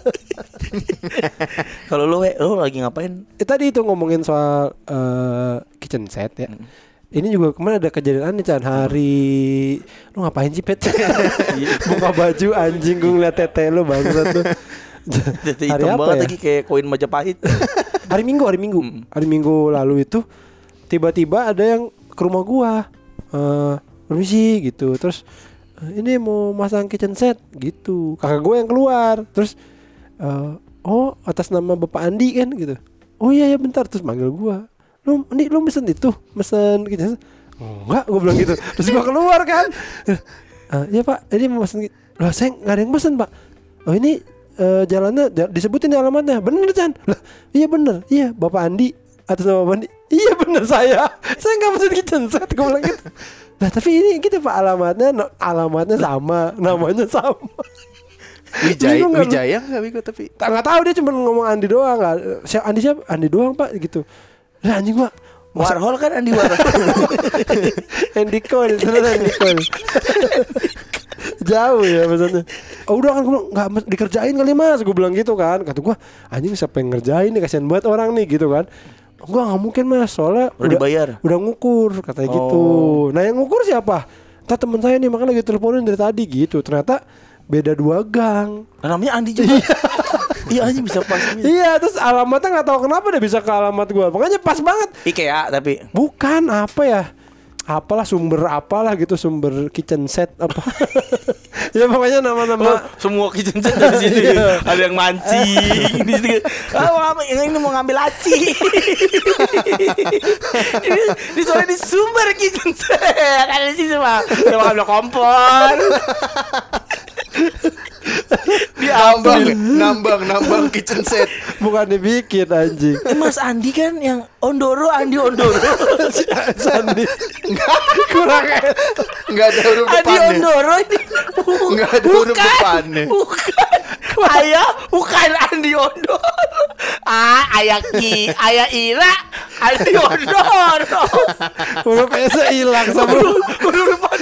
Kalau lo lagi ngapain? Tadi itu ngomongin soal kitchen set ya. Ini juga kemarin ada kejadian aneh Chan. Hari lu ngapain sih Pet? Buka baju anjing, gue ngeliat tete lu bangsat tuh. Tete hitam banget lagi kayak koin Majapahit. Hari Minggu lalu itu tiba-tiba ada yang ke rumah gua. Permisi gitu. Terus ini mau masang kitchen set gitu. Kakak gua yang keluar. Terus oh atas nama Bapak Andi kan gitu. Oh iya ya bentar. Terus manggil gua. Lu mesen itu? Mesen kitchen set? Enggak, gua bilang gitu. Terus gua keluar kan. Iya Pak, ini mau mesen. Lah saya nggak ada yang mesen Pak. Oh ini jalannya disebutin alamatnya. Bener Chan? Lah iya bener. Iya Bapak Andi atas nama Bapak Andi. Iya bener saya nggak mesen kitchen set. Gue bilang gitu. Nah tapi ini gitu Pak, alamatnya sama, namanya sama. Wijaya nggak Biko tapi nggak tahu, dia cuma ngomong Andi doang. Siapa Andi doang Pak gitu. Nah anjing gua Warhol kan Andy Warhol. Andy Cole. Jauh ya maksudnya. Udah kan gue bilang nggak dikerjain kali Mas, gue bilang gitu kan. Kata gue anjing siapa yang ngerjain nih, kasihan banget orang nih gitu kan. Gue nggak mungkin Mas, soalnya udah dibayar, udah ngukur katanya gitu. Nah yang ngukur siapa? Entah teman saya nih, makanya lagi teleponin dari tadi gitu. Ternyata beda 2 gang. Namanya Andi juga. Iya anjing bisa pas. Iya, terus alamatnya nggak tahu kenapa dia bisa ke alamat gue. Makanya pas banget. IKEA tapi bukan apa ya? Apalah sumber kitchen set apa. Ya pokoknya nama-nama semua kitchen set dari sini. Ada yang mancing di sini. Ini mau ngambil laci. ini soalnya di sumber kitchen set. Ada di sini mah. Mau ngambil kompor. nambang kitchen set. Bukan dibikin anjing. Mas Andi kan yang Andi Ondoro. Andi kurang nggak ada huruf depannya. Andi Ondoro ini nggak ada huruf depannya. Bukan Andi Ondoro. Ayah Ira Andi Ondoro. Huruf S hilang sama huruf depan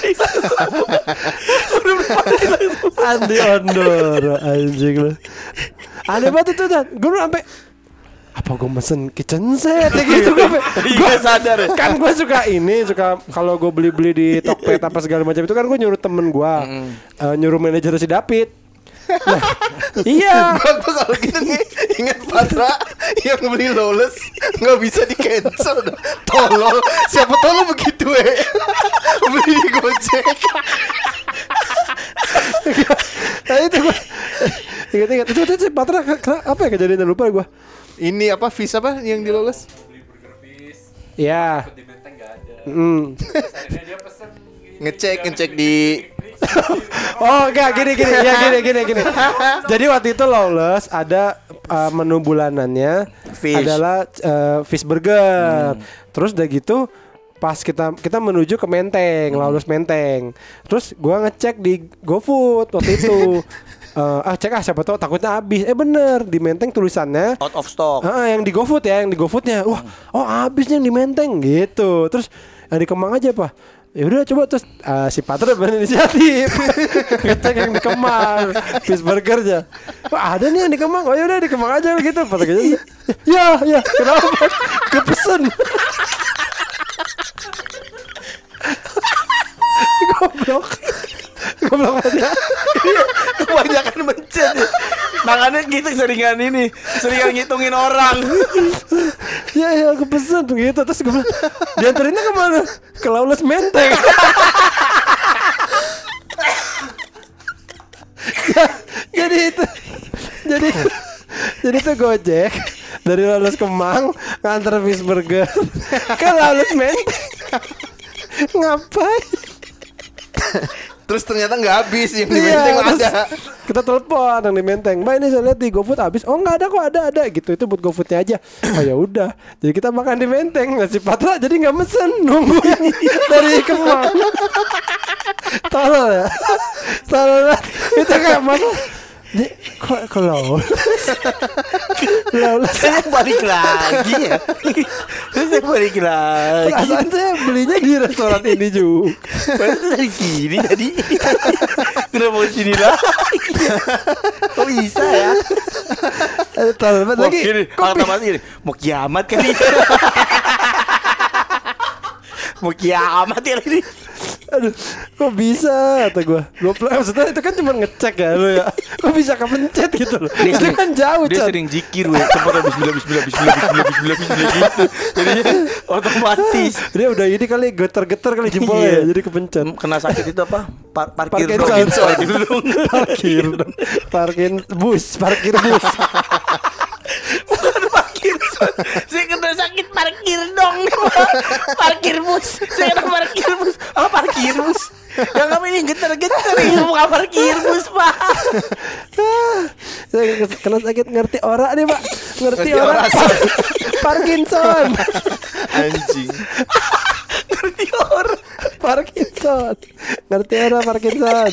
Andi Ondoro anjing lu. Aneh banget itu kan. Gue sampai apa gue mesen kitchen set ya gitu gue sadar kan. Gue suka kalau gue beli di Tokped apa segala macam itu kan gue nyuruh temen gue nyuruh manajer si David. Nah, iya. Gue kalau gitu nih ingat Patra yang beli Lawless nggak bisa di cancel. Tolol, siapa tolol begitu beli di Gojek. Nah itu gue ingat itu si Patra apa ya kejadiannya, lupa gue. Ini apa Fish apa yang di Lawless? Beli burger Fish. Iya. Di Menteng nggak ada. Terus akhirnya dia pesen ngecek di oh enggak gini. Jadi waktu itu Lawless ada menu bulanannya fish. Adalah fish burger. Terus udah gitu pas kita menuju ke Menteng, Lawless Menteng. Terus gua ngecek di GoFood waktu itu. Siapa tahu takutnya habis. Bener di Menteng tulisannya out of stock. Yang di GoFood ya, yang di GoFoodnya. Wah, habisnya yang di Menteng gitu. Terus yang di Kemang aja Pak. Ya udah coba terus si Patra berinisiatif ngecek yang di Kemang fish burgernya. Wah ada nih yang di Kemang. Oh ya udah di Kemang aja gitu. Patra gitu. Ya kenapa? Kepesen. Goblok aja. Kebanyakan mencet. Makanya gitu seringan ngitungin orang. Ya aku pesen gitu. Terus gue bilang dianterinnya kemana? Ke Lawless Menteng. Jadi itu Gojek dari Lawless Kemang nganter fish burger ke Lawless Menteng. Ngapain? Terus ternyata nggak habis, yang di Menteng ada. Kita telepon yang di Menteng, Mbak ini saya lihat di GoFood habis. Oh nggak ada kok, ada gitu, itu buat GoFoodnya aja. Oh ya udah, jadi kita makan di Menteng. Nasi Patra jadi nggak mesen, nunggu yang dari Kemang. Tolol ya, itu kayak mana? Kok Lawless saya balik lagi ya. Saya balik lagi. Perasaan saya belinya di restoran ini juga. Padahal dari sini tadi. Kenapa di sini lagi? Kok bisa ya? Terlalu lagi. Gini, mau kiamat kan ini. Mau kiamat ya ini. Aduh, kok bisa kata gue. Maksudnya itu kan cuma ngecek ya lu ya. Kok bisa kepencet gitu loh. Itu kan jauh, dia Chan. sering zikir weh. Sempat bismillah gitu. Jadi otomatis Dia udah ini kali getar-getar kali jempolnya ya, jadi kepencet. kena sakit itu apa? Parkir Parkir bus. Bukan parkir. Saya kena sakit parkir dong. Parkir bus. Saya kena parkir bus. Oh, parkir bus. Yang kami ini getar-getar ini bukan parkir bus, Pak. Saya kena sakit ngerti ora nih, Pak. Ngerti ora. Parkinson. Anjing. Ngerti orang. Parkinson. Ngerti ora Parkinson.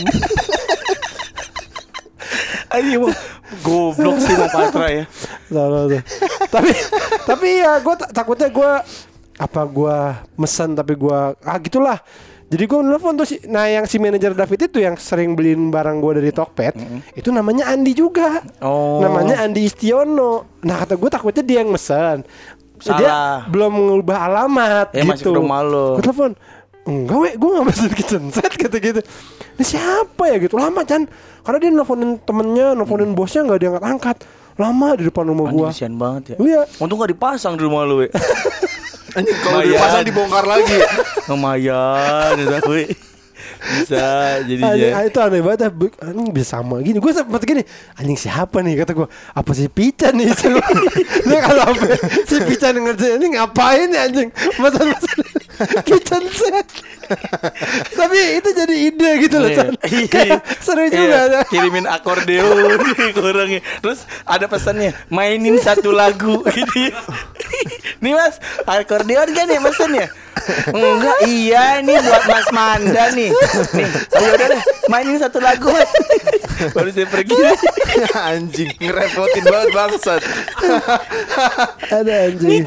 Ayo, goblok sih Bang Patra ya. Salah. Tapi ya gue takutnya gue mesen tapi gue gitulah. Jadi gue nelfon tuh yang si manajer David itu yang sering beliin barang gue dari Tokped, itu namanya Andi juga. Oh. Namanya Andi Istiono. Nah kata gue takutnya dia yang mesen. Salah. Dia belum mengubah alamat Ya, masih gitu. ke rumah lo. Gue telepon, enggak gue gak mesen kitchen set kata gitu. Ini siapa ya gitu, lama Chan. Karena dia nelfonin temennya, nelfonin bosnya gak diangkat-angkat. Lama di depan rumah gue. Kasian banget ya. Iya. Untung gak dipasang di rumah lu, we. Anjing kalau dipasang dibongkar lagi. Lumayan ya, we. Bisa jadinya. Itu aneh banget. Anjing bisa sama gini. Gue sempet gini, anjing siapa nih kata gue. Apa si Pican nih? Dia kalau si Pican ngerjain ini ngapain ya anjing? Masa kitchen set. Tapi itu jadi ide gitu loh, Chan. Kayak seru juga. Kirimin akordeon ke orangnya. Terus ada pesannya, mainin satu lagu gitu. Nih Mas, akordeon kan ya mesennya? Enggak, iya ini buat Mas Manda nih. Nih, ayo udah deh, mainin satu lagu Mas. Baru saya pergi. Anjing, ngerepotin banget bangsat. Ada anjing.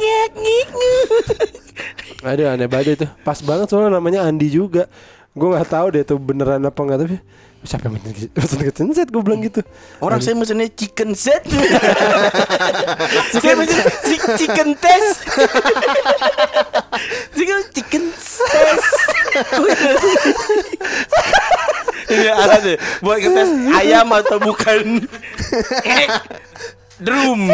Aduh aneh banget itu. Pas banget soalnya namanya Andi juga. Gue gak tahu deh itu beneran apa enggak, tapi siapa yang mesen kitchen set gue bilang gitu. Orang saya mesennya chicken set. Saya mesen chicken test. Chicken test. Ini ada deh buat ngetes ayam atau bukan. Drum.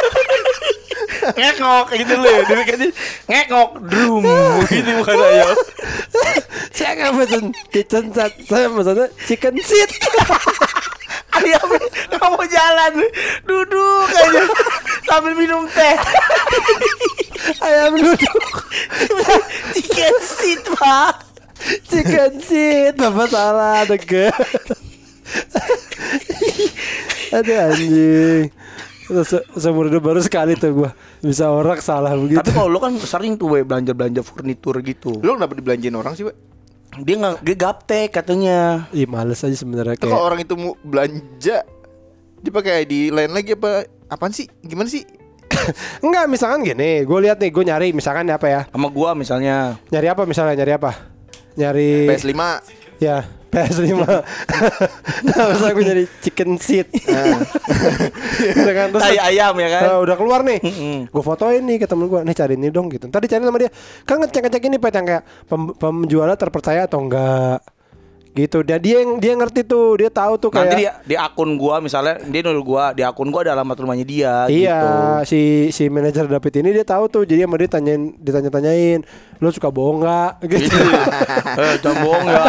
Ngekok gitu loh. Dibikin ngekok drum gitu bukan ayam. Saya gak mesen kitchen set, saya mesennya chicken seat. Ayamnya gak mau jalan, duduk aja sambil minum teh. Ayam duduk. Chicken seat, Pak. Chicken seat, bapak salah deket. Aduh anjing. Seumur hidup baru sekali tuh gue bisa orang salah begitu. Tapi kalau lo kan sering tuh we belanja furnitur gitu. Lu kenapa dibelanjain orang sih, we? Dia gaptek katanya. Ih males aja sebenarnya Kalau kayak. orang itu mau belanja dipakai di lain lagi apa? Apaan sih? Gimana sih? Enggak, misalkan gini, gue lihat nih, gue nyari misalkan apa ya? Sama gua misalnya. Nyari apa misalnya? Nyari apa? Nyari PS5. ya PS5. Masa gue nyari chicken seat. Terus Tai ayam ya kan. udah keluar nih. Gue fotoin nih ke temen gue, nih cari ini dong gitu. Ntar dicari sama dia. Kan ngecek ini Pet yang kayak penjualnya terpercaya atau enggak gitu. Dia ngerti tuh, dia tahu tuh kayak. Nanti di akun gua misalnya dia nol gua, di akun gua ada alamat rumahnya dia Iya, gitu. si manajer David ini dia tahu tuh. Jadi sama dia ditanya-tanyain, "Lu suka bohong enggak?" gitu. Jangan bohong ya.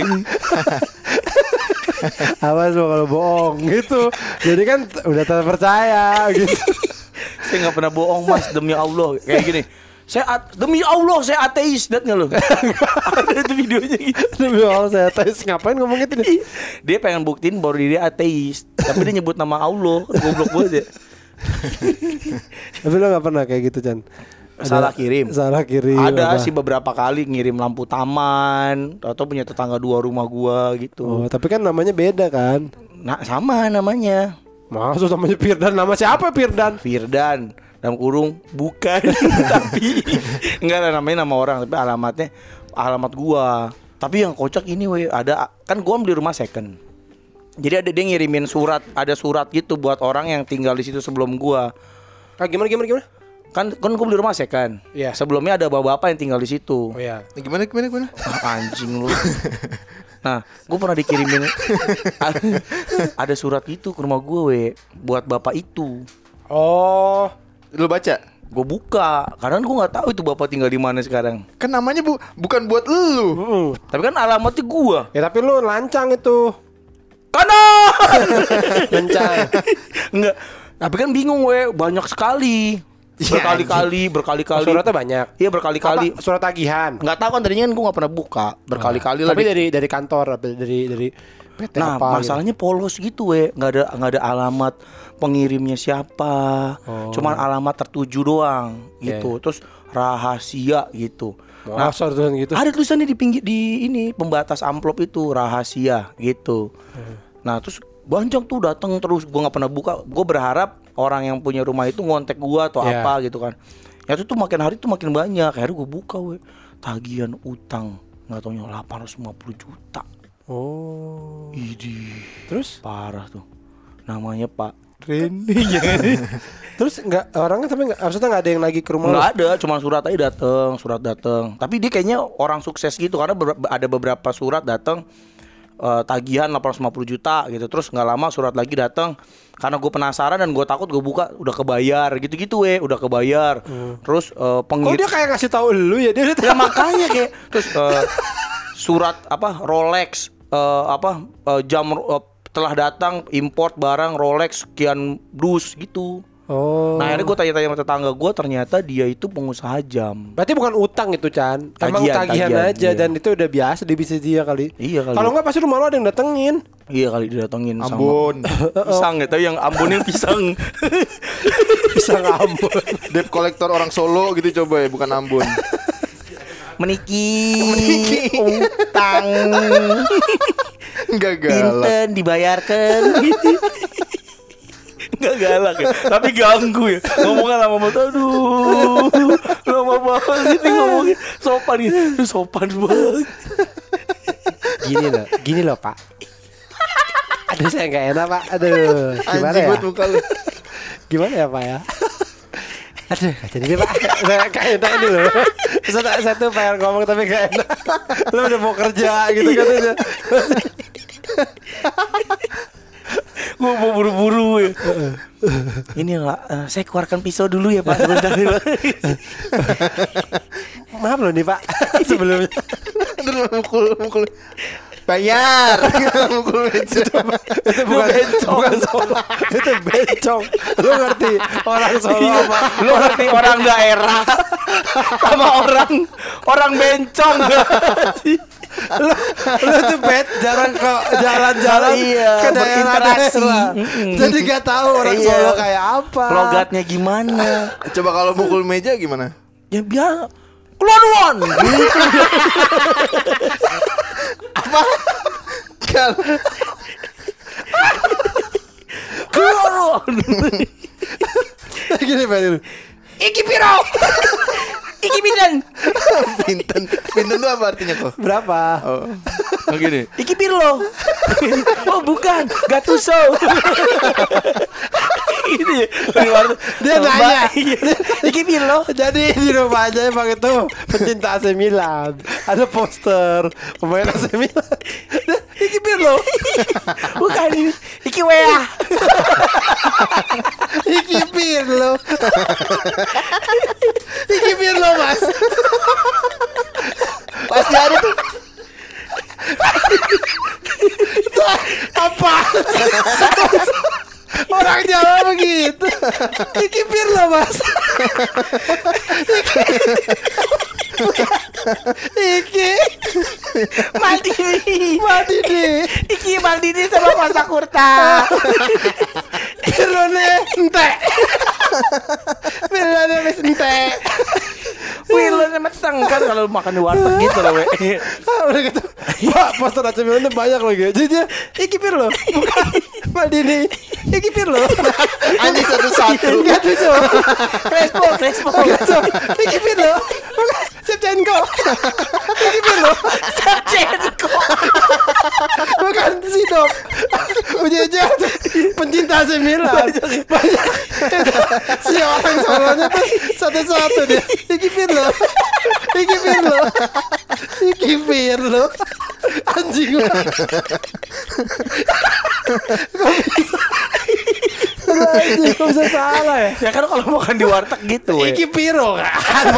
Awas lo kalau bohong gitu. Jadi kan udah terpercaya gitu. Saya enggak pernah bohong, Mas, demi Allah. Kayak gini. Demi Allah saya ateis, lihat nggak lo? Ada itu videonya gitu. Demi Allah saya ateis, ngapain ngomong gitu nih? Dia pengen buktiin bahwa dia ateis, tapi dia nyebut nama Allah. Goblok banget ya. Tapi lo nggak pernah kayak gitu, Chan? Salah kirim. Ada apa? sih beberapa kali ngirim lampu taman atau punya tetangga 2 rumah gua gitu. Oh, tapi kan namanya beda kan? Nah, sama namanya. Maksud namanya Firdan, nama siapa Firdan? Firdan dalam kurung bukan tapi enggak lah, namanya nama orang tapi alamat gua. Tapi yang kocak ini ada kan gua beli rumah second. Jadi dia ngirimin surat, ada surat gitu buat orang yang tinggal di situ sebelum gua. Gimana? Kan gue beli rumah second. Iya. Sebelumnya ada bapak-bapak yang tinggal di situ. Oh iya. Gimana? Anjing lu. Nah, gue pernah dikirimin ada surat itu ke rumah gue buat bapak itu. Oh, Lu baca? Gue buka, karena gue nggak tahu itu bapak tinggal di mana sekarang. Kan namanya bukan buat lu. Tapi kan alamatnya gue. ya tapi lu lancang itu. Kanan. Lancang. Enggak. Tapi kan bingung banyak sekali. Berkali-kali. Oh, suratnya banyak. Iya berkali-kali. Apa? Surat tagihan. Nggak tahu kan tadinya kan gue nggak pernah buka. Berkali-kali lah. Tapi dari kantor, dari PT Nah apa? masalahnya polos gitu nggak ada alamat pengirimnya siapa. Cuman alamat tertuju doang gitu. Terus rahasia gitu. Nah, gitu. ada tulisannya di pinggir di ini pembatas amplop itu rahasia gitu. Nah terus banyak tuh datang terus, gue nggak pernah buka. Gue berharap orang yang punya rumah itu ngontek gue atau apa gitu kan. Ya itu tuh makin hari tuh makin banyak. Akhirnya gue buka tagihan utang nggak taunya 850 juta. Oh. Idih. Terus Parah tuh. Namanya Pak Reni. terus nggak orangnya tapi maksudnya nggak ada yang lagi ke rumah. Nggak ada, cuma surat aja surat datang. Tapi dia kayaknya orang sukses gitu karena ada beberapa surat datang tagihan 850 juta gitu. Terus nggak lama surat lagi datang. Karena gue penasaran dan gue takut, gue buka udah kebayar gitu-gitu udah kebayar. Terus Kok dia kayak ngasih tahu lu ya dia udah ya makanya kayak terus surat Rolex jam telah datang import barang Rolex sekian dus gitu. Oh. Nah akhirnya gue tanya-tanya sama tetangga gue, ternyata dia itu pengusaha jam. Berarti bukan utang itu Chan. Emang tagihan aja. Iya. Dan itu udah biasa bisa dia kali. Iya kali. Kalau nggak pasti rumah lo ada yang datengin. Iya kali didatengin Ambon. sama pisang ya, tapi yang Ambonnya pisang. Pisang Ambon. Debt kolektor orang Solo gitu coba ya, bukan Ambon. Meniki utang Enggak galak. Pinten dibayarkan. Enggak galak ya, tapi ganggu ya. Ngomongnya lama banget. Aduh, lama banget ini ngomongnya. Sopan gitu. Aduh, sopan banget. Gini loh Pak. Aduh saya nggak enak Pak. Aduh. Gimana Anjing ya? buat muka lu. Gimana ya Pak ya? Aduh, jadi deh Pak. Saya kayak enak ini loh. Saya tuh pengen ngomong tapi gak enak. Lo udah mau kerja gitu katanya. Gue mau buru-buru ya. Ini lah, saya keluarkan pisau dulu ya Pak. Sebentar ya Pak. Maaf loh nih Pak. Sebelumnya. Terus mukul. Bayar. Mukul meja. Itu bukan Solo. Itu bencong. Lu ngerti orang Solo apa? Lu ngerti orang daerah sama orang bencong gak sih? Lu tuh jarang ke jalan-jalan ke daerah-daerah. Jadi gak tahu orang Solo kayak apa. Logatnya gimana? Coba kalau mukul meja gimana? Ya biar keluaruan gitu. Apa? Kalau Keluaruan. Gini Pak. Iki piro? Iki pinten? Pinten itu apa artinya kok? Berapa? Oh. Gini. Iki piro? Oh bukan, Gattuso. Ini Dia nanya. Iki piro? Jadi di rumah aja emang itu pencinta AC Milan. Ada poster pemain AC Milan. Iki Pirlo. Bukan ini. Iki Wea. Iki Pirlo. Iki Pirlo Mas. Pasti ada tuh. Apa? Orang Jawa begitu. Iki Pirlo Mas. Iki Maldini. Iki Maldini sama Costa Curta. Pirlo entek. Pirlo wis entek. Pirlo meteng kan kalau makan di warteg gitu loh, we. Udah gitu. Pak, poster AC Milan tuh banyak loh gitu. Jadi dia, Iki Pirlo, bukan Maldini. Iki Pirlo. Anjing satu-satu. Enggak tuh, Cok. Crespo. Enggak, Cok. Iki Pirlo. Bukan Shevchenko. Iki Pirlo. Shevchenko. Bukan Bukan si Dop. Penyejar tuh pencinta AC Milan. Banyak. Si orang Solonya tuh satu-satu dia. Iki Pirlo. Anjing banget. Kok bisa salah ya? Ya kan kalau makan di warteg gitu. Iki Pirlo kan.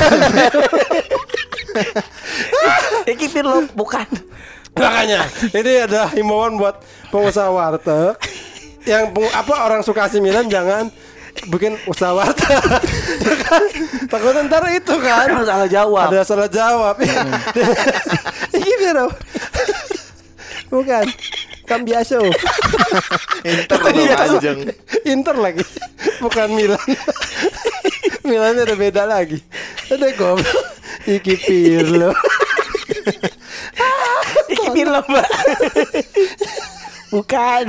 Iki Pirlo bukan. Makanya ini adalah himbauan buat pengusaha warteg yang orang suka AC Milan jangan bikin usaha warteg. Ya kan? Takut ntar itu kan Salah jawab. ada salah jawab. Iki Pirlo bukan Cambiaso. Inter dong anjing. Inter lagi bukan Milan. Milannya udah beda lagi. Ada goblok. Iki Pirlo. Iki Pirlo, Mbak. Bukan.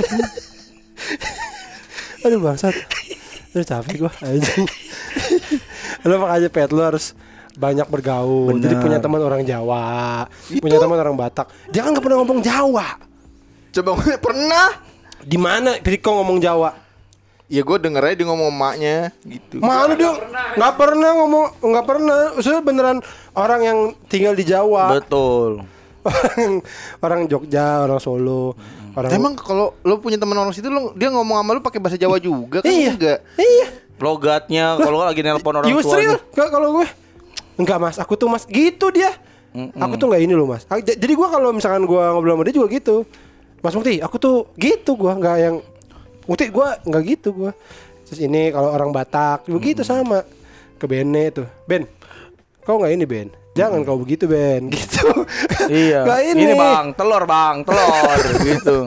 Aduh bangsat. Aduh capek gua anjing. Lu makanya Pet lu harus banyak bergaul. Bener. Jadi punya teman orang Jawa, punya teman orang Batak. Dia kan enggak pernah ngomong Jawa. Coba pernah. Di mana Riko ngomong Jawa? Ya gue denger aja dia ngomong emaknya gitu. Mana dia nggak pernah ngomong, nggak pernah. Maksudnya beneran orang yang tinggal di Jawa. Betul. orang Jogja, orang Solo, orang. Emang kalau lo punya teman orang situ dia ngomong sama lu pakai bahasa Jawa juga kan? Iya. Enggak. Iya. Logatnya kalau lagi nelpon orang Yusril, tuanya. enggak kalau gue. Enggak Mas, aku tuh Mas gitu dia. Aku tuh enggak ini loh Mas. Jadi gue kalau misalkan gue ngobrol sama dia juga gitu. Mas Mukti, aku tuh gitu gue, enggak yang Mukti gue enggak gitu gue. Terus ini kalau orang Batak begitu sama. Ke Bene tuh. Ben. Kau enggak ini Ben. Jangan kau begitu Ben. Gitu. Iya. Nggak Ini Bang, telur gitu.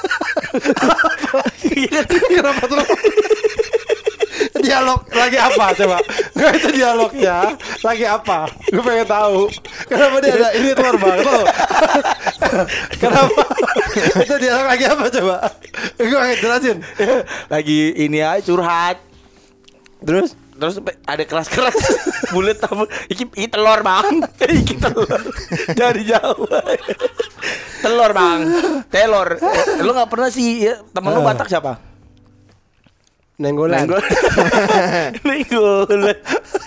Kenapa tuh? Dialog lagi apa coba? Nggak itu dialognya lagi apa? Gue pengen tahu. Kenapa dia ada ini telur bang? Tuh. Kenapa? Itu dialog lagi apa coba? Gue pengen jelasin. Lagi ini aja curhat. Terus ada keras-keras bulet apa? Iki telur Bang. Iki telur. Dari Jawa. Telur Bang. Telur. Lu enggak pernah sih ya, temen lu Batak siapa? Nenggolan. Nenggolan.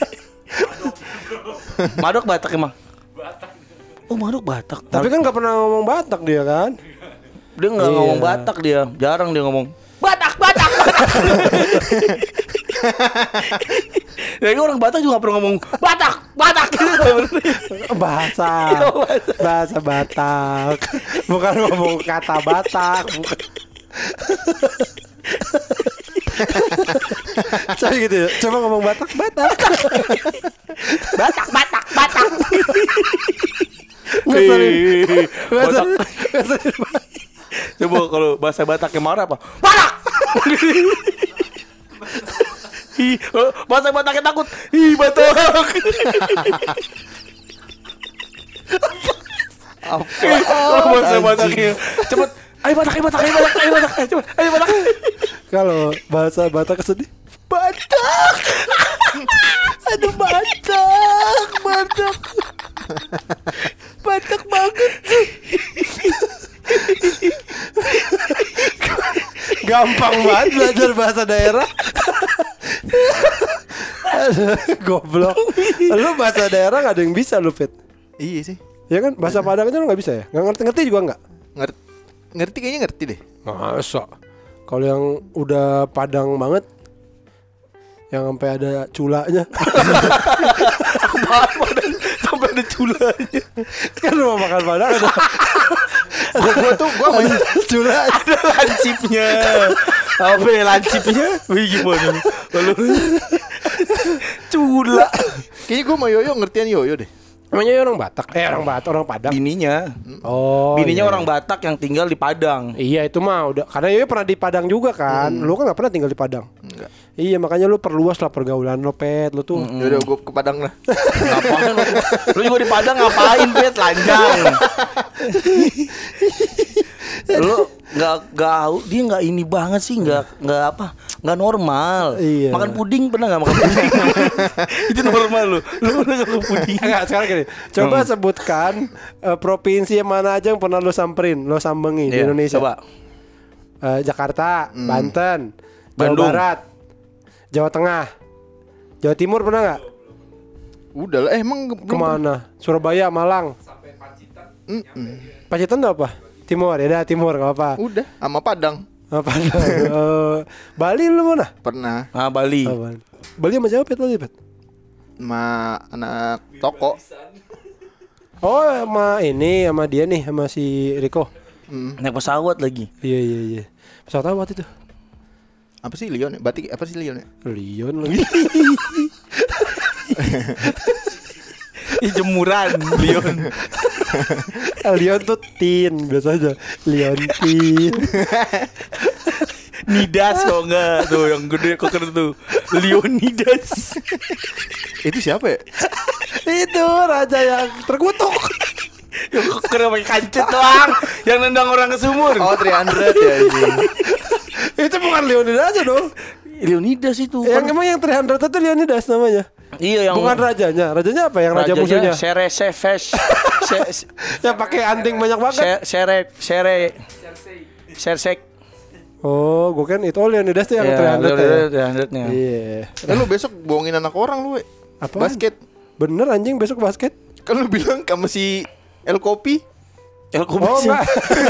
Madok Batak emang? Oh Madok Batak. Tapi kan nggak pernah ngomong Batak dia kan? Dia nggak Iya. ngomong Batak dia, jarang dia ngomong Batak. Ya orang Batak juga nggak pernah ngomong Batak. Bahasa Batak. Bukan ngomong kata Batak. Bukan. Coba gitu ya. Coba ngomong Batak. Batak. Batak. Coba kalau bahasa Bataknya marah apa? Batak. Bahasa Bataknya takut. Batak. Bahasa Bataknya cepet. Ayo Batak. Cepet. Ayo Batak. Kalau bahasa Batak sedih. Batak. Aduh Batak. Batak banget. Gampang banget belajar bahasa daerah. Aduh, goblok. Lu bahasa daerah gak ada yang bisa lu Fit. Iya sih. Ya kan bahasa Padang aja lu gak bisa ya. Gak ngerti juga gak. Ngerti kayaknya ngerti deh. Masa. Kalau yang udah Padang banget, yang sampai ada culanya. Padang sampai ada culanya. Kan rumah makan Padang ada. Gua main Cula. Ada lancipnya. Apa ya lancipnya? Wih gimana? Lalu cula. Kayaknya gue sama Yoyo ngertian Yoyo deh. Namanya orang Batak. Orang Padang. Bininya. Oh. Bininya iya. orang Batak yang tinggal di Padang. Iya itu mah udah. Karena Yoyo pernah di Padang juga kan. Lu kan gak pernah tinggal di Padang. Enggak. Iya makanya lu perluas lah pergaulan lo Pet. Lu tuh. Yaudah gue ke Padang lah. Ngapain lu? Lu juga di Padang ngapain, Pet? Lanjang. Lu dia nggak ini banget sih, nggak normal. Iya. Makan puding pernah nggak makan puding? Itu normal lu pernah makan puding? Enggak, sekarang gini. Coba sebutkan provinsi yang mana aja yang pernah lu samperin, lu sambengi di Indonesia. Coba. Jakarta, Banten, Bandung. Jawa Barat, Jawa Tengah, Jawa Timur pernah nggak? Udah lah, emang belum Kemana? Surabaya, Malang. Sampai Pacitan. Pacitan tuh apa? Timur, ya dah Timur nggak apa. udah sama Padang. Apa? Bali lu mana? Pernah Bali. Bali sama siapa Bali, Pet? sama anak toko. Oh, sama dia nih, sama si Riko. Naik pesawat lagi. Iya. Pesawat apa itu? Apa sih Lion? Batik apa sih Lion? Lion lagi. Jemuran Lion. Lion tuh tin biasa aja. Lion tin. Nidas kok enggak tuh yang gede koker tuh. Leonidas. Itu siapa ya? Itu raja yang terkutuk. Yang koker pakai kancut doang, yang nendang orang ke sumur. Oh 300 ya ini. Itu bukan Leonidas aja dong. Leonidas itu. Emang yang 300 itu Leonidas namanya. Iya yang Bukan rajanya. Rajanya apa? Yang raja musuhnya. Seresefesh. Yang pakai anting banyak banget. Sersek. Oh, gue kan itu Leonidas tuh yang 300 ya. 300-nya. Iya. Lu besok bohongin anak orang lu, we. Apaan? Basket. Bener anjing besok basket. Kan lu bilang kamu si El Kopi. Oh enggak.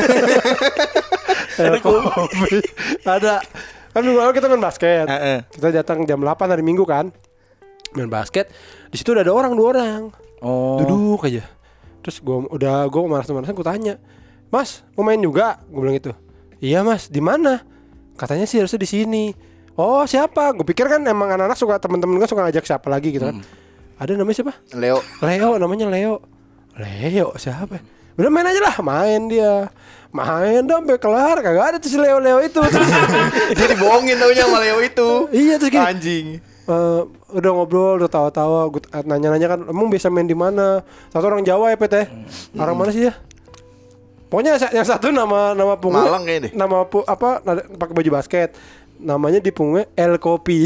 Kopi. Ada. Kan minggu lalu kita main basket. Kita datang jam 8 hari Minggu kan. Main basket. Di situ udah ada 2 orang. Oh. Duduk aja. Terus gue malas-malasan gue tanya, "Mas, mau main juga?" Gue bilang gitu. "Iya, Mas. Di mana?" Katanya sih harusnya di sini. "Oh, siapa?" Gue pikir kan emang anak-anak suka, temen-temen kan suka ngajak siapa lagi gitu kan. Ada namanya siapa? Leo. Namanya Leo siapa? Udah main aja lah, main dia. Main dah sampai kelar, kagak ada tuh si Leo itu. Jadi bohongin taunya sama Leo itu. Iya, terus gini. Anjing. Udah ngobrol, udah tawa-tawa, gue nanya-nanya kan, emang biasa main di mana? Satu orang Jawa ya, Pet ya. Orang mana sih ya? Pokoknya yang satu nama punggungnya Malang kayaknya deh. Pakai baju basket. Namanya di punggungnya El Kopi.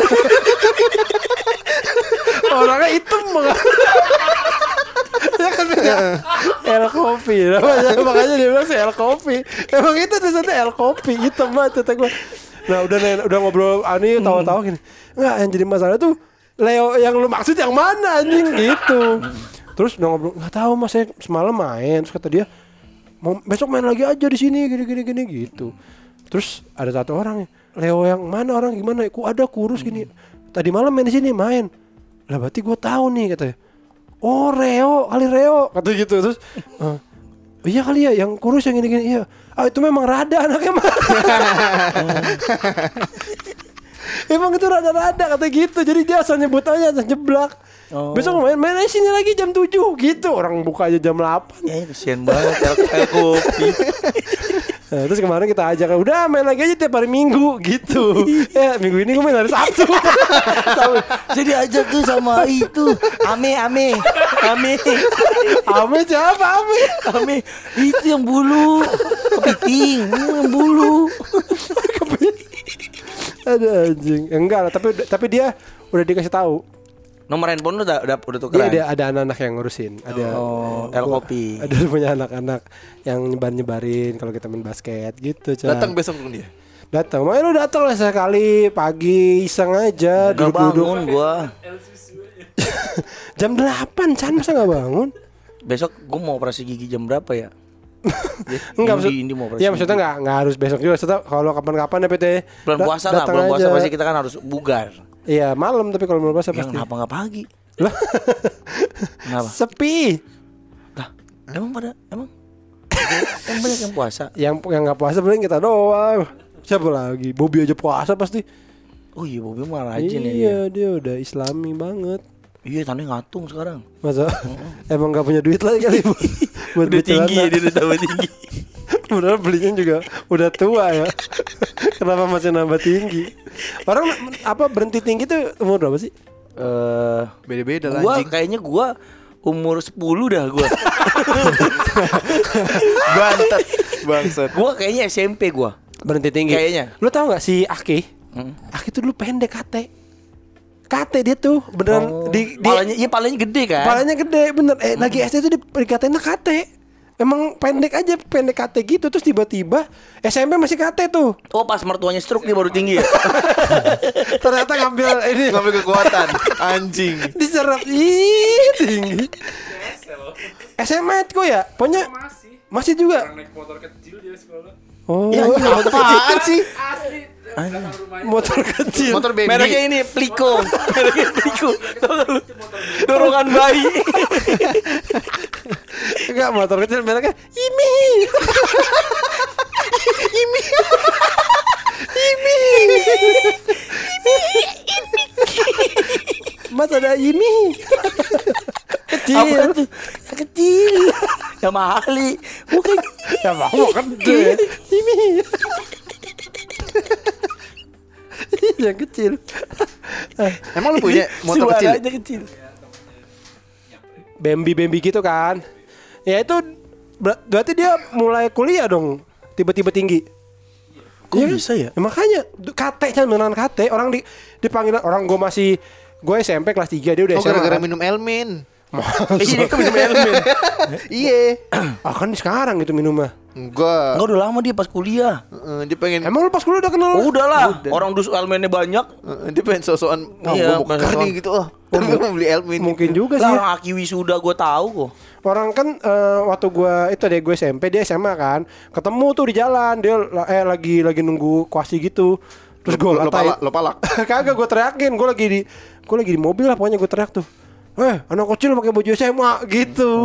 Orangnya hitam banget. Ya kan beda. El Kopi makanya dia bilang si El Kopi. Emang itu tulisannya El Kopi, hitam banget kata gue. Nah udah ngobrol ani tawa-tawa gini. Enggak, yang jadi masalah tuh Leo yang lu maksud yang mana anjing gitu. Terus udah ngobrol, enggak tahu Mas, saya semalam main. Terus kata dia, "Mau besok main lagi aja di sini gini gitu." Terus ada satu orang, "Leo yang mana, orang gimana? Ku ada kurus gini. Tadi malam main di sini main." Lah berarti gue tahu nih katanya. "Oh Reo, kali Reo," kata gitu. Terus iya kali ya yang kurus yang gini-gini. Iya. Itu memang rada anaknya mah. Emang itu rada-rada kata gitu. Jadi dia asal nyebut aja, asal jeblak. Besok main aja sini lagi jam 7 gitu. Orang buka aja jam 8. Ya kesian banget El Kopi. Nah, terus kemarin kita ajak, udah main lagi aja tiap hari Minggu gitu. Ya minggu ini gue main hari Sabtu. Jadi ajak tuh sama itu Ame siapa Ame itu yang bulu kepiting, yang bulu. Ada anjing. Enggak lah, tapi dia udah dikasih tahu. Nomor handphone lu udah tukeran. Iya, ada anak-anak yang ngurusin. Ada El Kopi. Ada punya anak-anak yang nyebarin kalau kita main basket gitu, Cak. Datang besok dulu dia. Datang. Makanya lu datang lah sekali pagi iseng aja duduk-duduk. Bangun gua. Jam 8, Chan, masa enggak bangun? Besok gua mau operasi gigi jam berapa ya? Enggak Indi mau operasi. Iya, maksudnya enggak harus besok juga. Maksudnya kalau kapan-kapan ya PT. Bulan puasa lah, bulan puasa pasti kita kan harus bugar. Iya, malam, tapi kalau bulan puasa pasti. Kenapa enggak pagi? Lah. Kenapa? Sepi. Lah, emang banyak yang puasa. Yang enggak puasa paling kita doang. Siapa lagi? Bobby aja puasa pasti. Oh iya, Bobby mah rajin ya. Iya, dia udah Islami banget. Iya, tandanya ngatung sekarang. Masa? Emang gak punya duit lagi kali buat Udah tinggi ya, dia udah tambah tinggi. Padahal belinya juga udah tua ya. Kenapa masih nambah tinggi? Orang berhenti tinggi tuh umur berapa sih? Beda-beda lah Gua anjing. kayaknya umur 10 dah gua. Bantet. Bangsat. Gua kayaknya SMP gua. Berhenti tinggi. Kayaknya. Lu tahu nggak si Aki? Aki tuh dulu pendek kate dia tuh beneran palanya gede kan? Palanya gede bener. Lagi SD tuh dikatain kate. Emang pendek aja, pendek kate gitu. Terus tiba-tiba SMP masih kate tuh. Oh pas mertuanya stroke dia baru tinggi ya? Ternyata ngambil kekuatan. Anjing. diserap tinggi. SMA kok ya? Pokoknya masih juga. Orang naik motor kecil dia sekolah. Oh, Ya, apaan sih? Asli. Belakang rumahnya. motor kecil. Motor baby. Mereknya ini Pliko. Mereknya Pliko. Tahu nggak lu? Dorongan bayi. Enggak, motor kecil mereknya Imi. Mas ada Imi. Kecil. Apa tuh? Yang kecil. Yang mahali. Bukan. Ya mau gede. Imi. Yang kecil. Emang lu punya motor kecil? Suaranya kecil. Bambi gitu kan. Ya itu berarti dia mulai kuliah dong. Tiba-tiba tinggi. Kok bisa ya? Makanya kate beneran kate. Orang dipanggil orang gue SMP kelas 3 dia udah Oh, SMA. gara-gara kan. minum Elmin. Ini kan minum elemen. Iya. Kan sekarang itu minumnya. Enggak. Enggak udah lama dia pas kuliah. Dia pengen Emang lu pas kuliah udah kenal? Oh, udah lah. Orang dus elemennya banyak. dia pengen sosokan Iya, mau buka sosokan. nih gitu. Tapi mau beli Elmin. Mungkin juga sih. Lah orang Aki wisuda gue tahu kok. Orang kan waktu gue SMP dia SMA kan. Ketemu tuh di jalan dia lagi nunggu kuasi gitu. Terus gue ngatain. Lo palak. Kagak gue teriakin. Gue lagi di mobil lah pokoknya gue teriak tuh. Anak kecil pakai baju SMA gitu.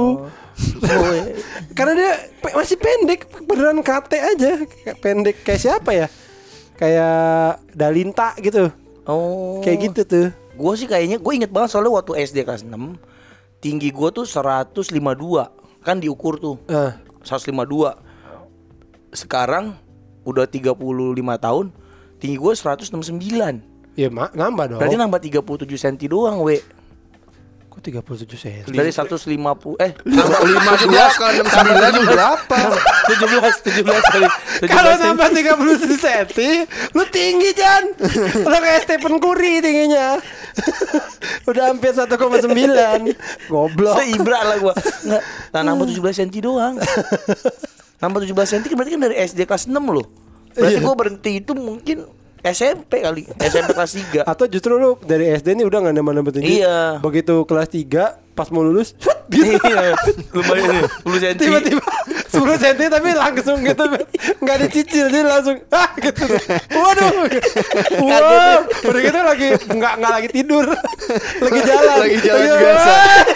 Karena dia masih pendek, beneran kate aja. Pendek kayak siapa ya? Kayak Dalinta gitu. Oh. Kayak gitu tuh. Gue sih kayaknya gue inget banget soalnya waktu SD kelas 6 tinggi gue tuh 152. Kan diukur tuh 152. Sekarang udah 35 tahun tinggi gue 169. Ya nambah dong. Berarti nambah 37 cm doang we. Kok 37 cm? Dari 150 52 ke 69 berapa? 17 sorry. Kalau nambah 37 cm, lu tinggi Jan. Lu kayak Stephen Curry tingginya. Udah hampir 1,9. Goblok. Seibra lah gua. Enggak, nambah 17 cm doang. Nambah 17 cm berarti kan dari SD kelas 6 loh. Berarti gua berhenti itu mungkin SMP kali, SMP kelas 3. Atau justru lu dari SD nih udah gak nambah tinggi. Iya. Begitu kelas 3 pas mau lulus gitu. Iya, lumayan nih, 10 cm. Tiba-tiba 10 cm tapi langsung gitu. Gak dicicil jadi langsung gitu. Waduh. Wow. Udah gitu lagi Gak lagi tidur. Lagi jalan. Lagi jalan biasa.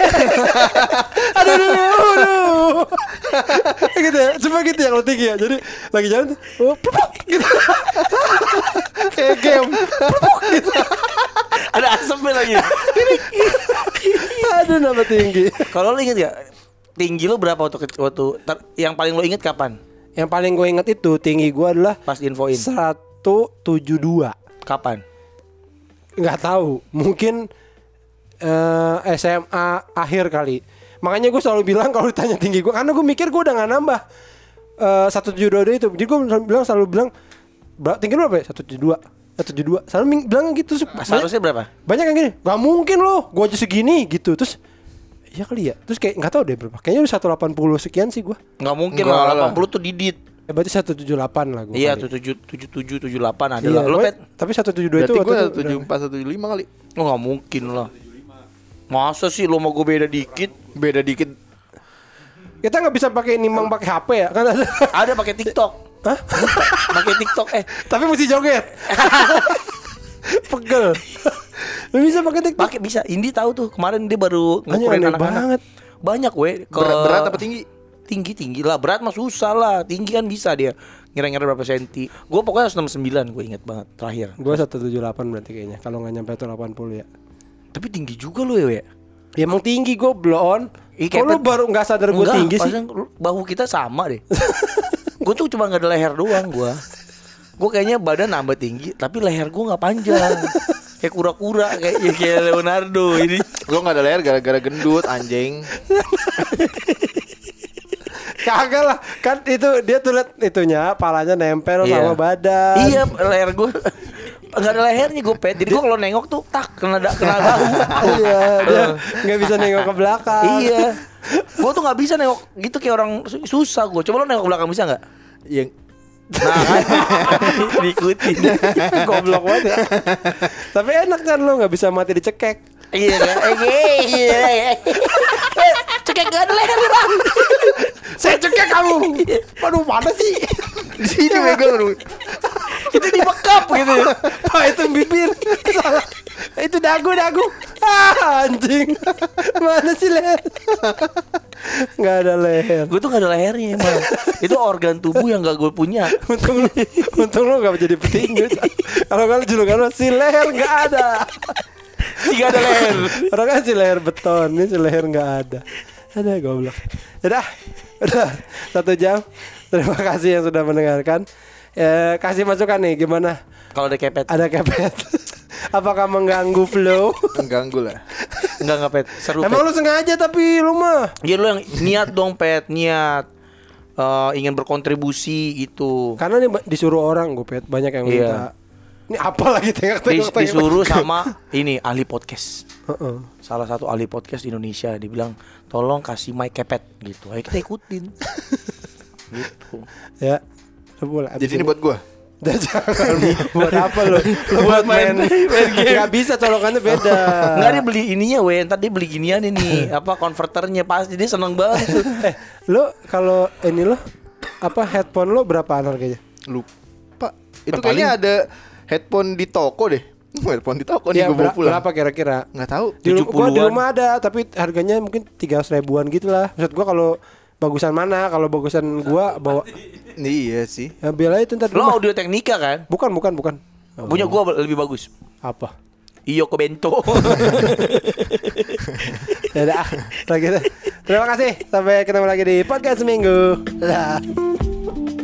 Aduh. Gitu ya. Cuma gitu yang lo tinggi ya. Jadi lagi jalan tuh pupuk gitu. Kayak game. Pupuk gitu. Ada asapnya lagi. Aduh nambah tinggi. Kalau lo inget gak tinggi lo berapa waktu yang paling lo inget kapan? Yang paling gue inget itu tinggi gue adalah Pas infoin. 172. Kapan? Nggak tahu. Mungkin SMA akhir kali. Makanya gue selalu bilang kalau ditanya tinggi gue, karena gue mikir gue udah nggak nambah 172 itu. Jadi gue selalu bilang tinggi lu berapa ya? 172. Selalu bilang gitu. Seharusnya berapa? Banyak yang gini. Gak mungkin loh. Gue aja segini gitu. Terus iya kali ya. Terus kayak nggak tahu deh berapa. Kayaknya udah 180 sekian sih gue. Nggak mungkin Enggak lah. lah. 80 tuh didit. Berarti 178 lah gue. Iya, kali. 77, 78 ada Iya, lah. Lo gue- Pet? tapi 172 itu Berarti gue waktu itu 74 175 kali. Oh nggak mungkin lah. Masa sih lo mau gue beda dikit? Beda dikit. kita nggak bisa pakai nimbang pakai HP ya kan ada. Ada pakai TikTok. Hah? Pakai TikTok Tapi mesti joget. Pegel. Lu bisa pakai TikTok? pakai bisa. Indi tahu tuh kemarin dia baru Anjing, ngukurin aneh anak-anak. banget. Banyak we. Berat apa tinggi? Tinggi lah. Berat mah susah lah. Tinggi kan bisa dia. Ngira-ngira berapa senti. Gue pokoknya 169 gue inget banget terakhir. Gua 178 berarti kayaknya. Kalau nggak nyampe 180 ya. Tapi tinggi juga lo ya we. Ya emang tinggi gue blon. Ih, Kok lu kayak baru nggak sadar gue Enggak, tinggi sih? pasang bahu kita sama deh. Gue tuh cuma nggak ada leher doang gue. Gue kayaknya badan nambah tinggi, tapi leher gue nggak panjang. Kayak kura-kura, kayak Leonardo ini. Lo gak ada leher gara-gara gendut anjing. Kagak lah, kan itu dia tuh liat itunya, palanya nempel sama badan. Iya, leher gue nggak ada lehernya gue pet. Jadi gue kalau nengok tuh kena bahu. Iya, dia nggak bisa nengok ke belakang. Iya, gue tuh nggak bisa nengok gitu kayak orang susah gue. Coba lo nengok ke belakang bisa nggak? Yang Nah kan diikutin. Goblok banget ya. Tapi enak kan lo nggak bisa mati dicekek. Iya kan? Cekek gak ada leher bang. Saya cekek kamu. Waduh mana sih? di sini megang. Itu dibekap gitu. Pak itu bibir. Salah. Itu dagu. Anjing. Mana sih leher? Nggak ada leher. Gue tuh gak ada lehernya emang. Itu organ tubuh yang gak gue punya. Untung lu gak jadi petinju. Kalau julukan lu si leher nggak ada. Gak ada leher. Orang kan si leher beton, ini si leher nggak ada. Ada goblok. Udah 1 jam. Terima kasih yang sudah mendengarkan. Kasih masukan nih gimana? Kalau ada kepet. Ada kepet. Apakah mengganggu flow? Mengganggu lah. Enggak pet. Seru. Emang Pet. lu sengaja tapi lu mah. Ya lu yang niat dong pet, niat. Ingin berkontribusi gitu. Karena nih disuruh orang gue pet, banyak yang minta. Ini apa lagi tengok-tengok. Disuruh sama ini ahli podcast. Heeh. Salah satu ahli podcast di Indonesia dibilang tolong kasih mic kepet gitu. Ayo kita ikutin. Gitu. Ya. Boleh. Jadi ini buat gua. Jangan buat apa lo? Lo buat main game. Gak bisa colokannya beda. Enggak, dia beli ininya ntar dia beli ginian ini apa konverternya pasti dia seneng banget tuh. Lo kalau ini lo apa headphone lo berapaan harganya? Lupa. Itu kayaknya ada headphone di toko deh. Headphone di toko nih Ya, gua bawa pulang. berapa kira-kira? Nggak tahu. Gua di rumah ada tapi harganya mungkin 300 ribuan gitu lah. Maksud gua kalau bagusan mana? Kalau bagusan gua bawa Iya sih. ya biar aja ntar di Lo rumah. Audio Technica kan? Bukan. Punya gua lebih bagus. Apa? Iyoko Bento. Ya udah, kalau gitu. Terima kasih. Sampai ketemu lagi di podcast seminggu. Dadah.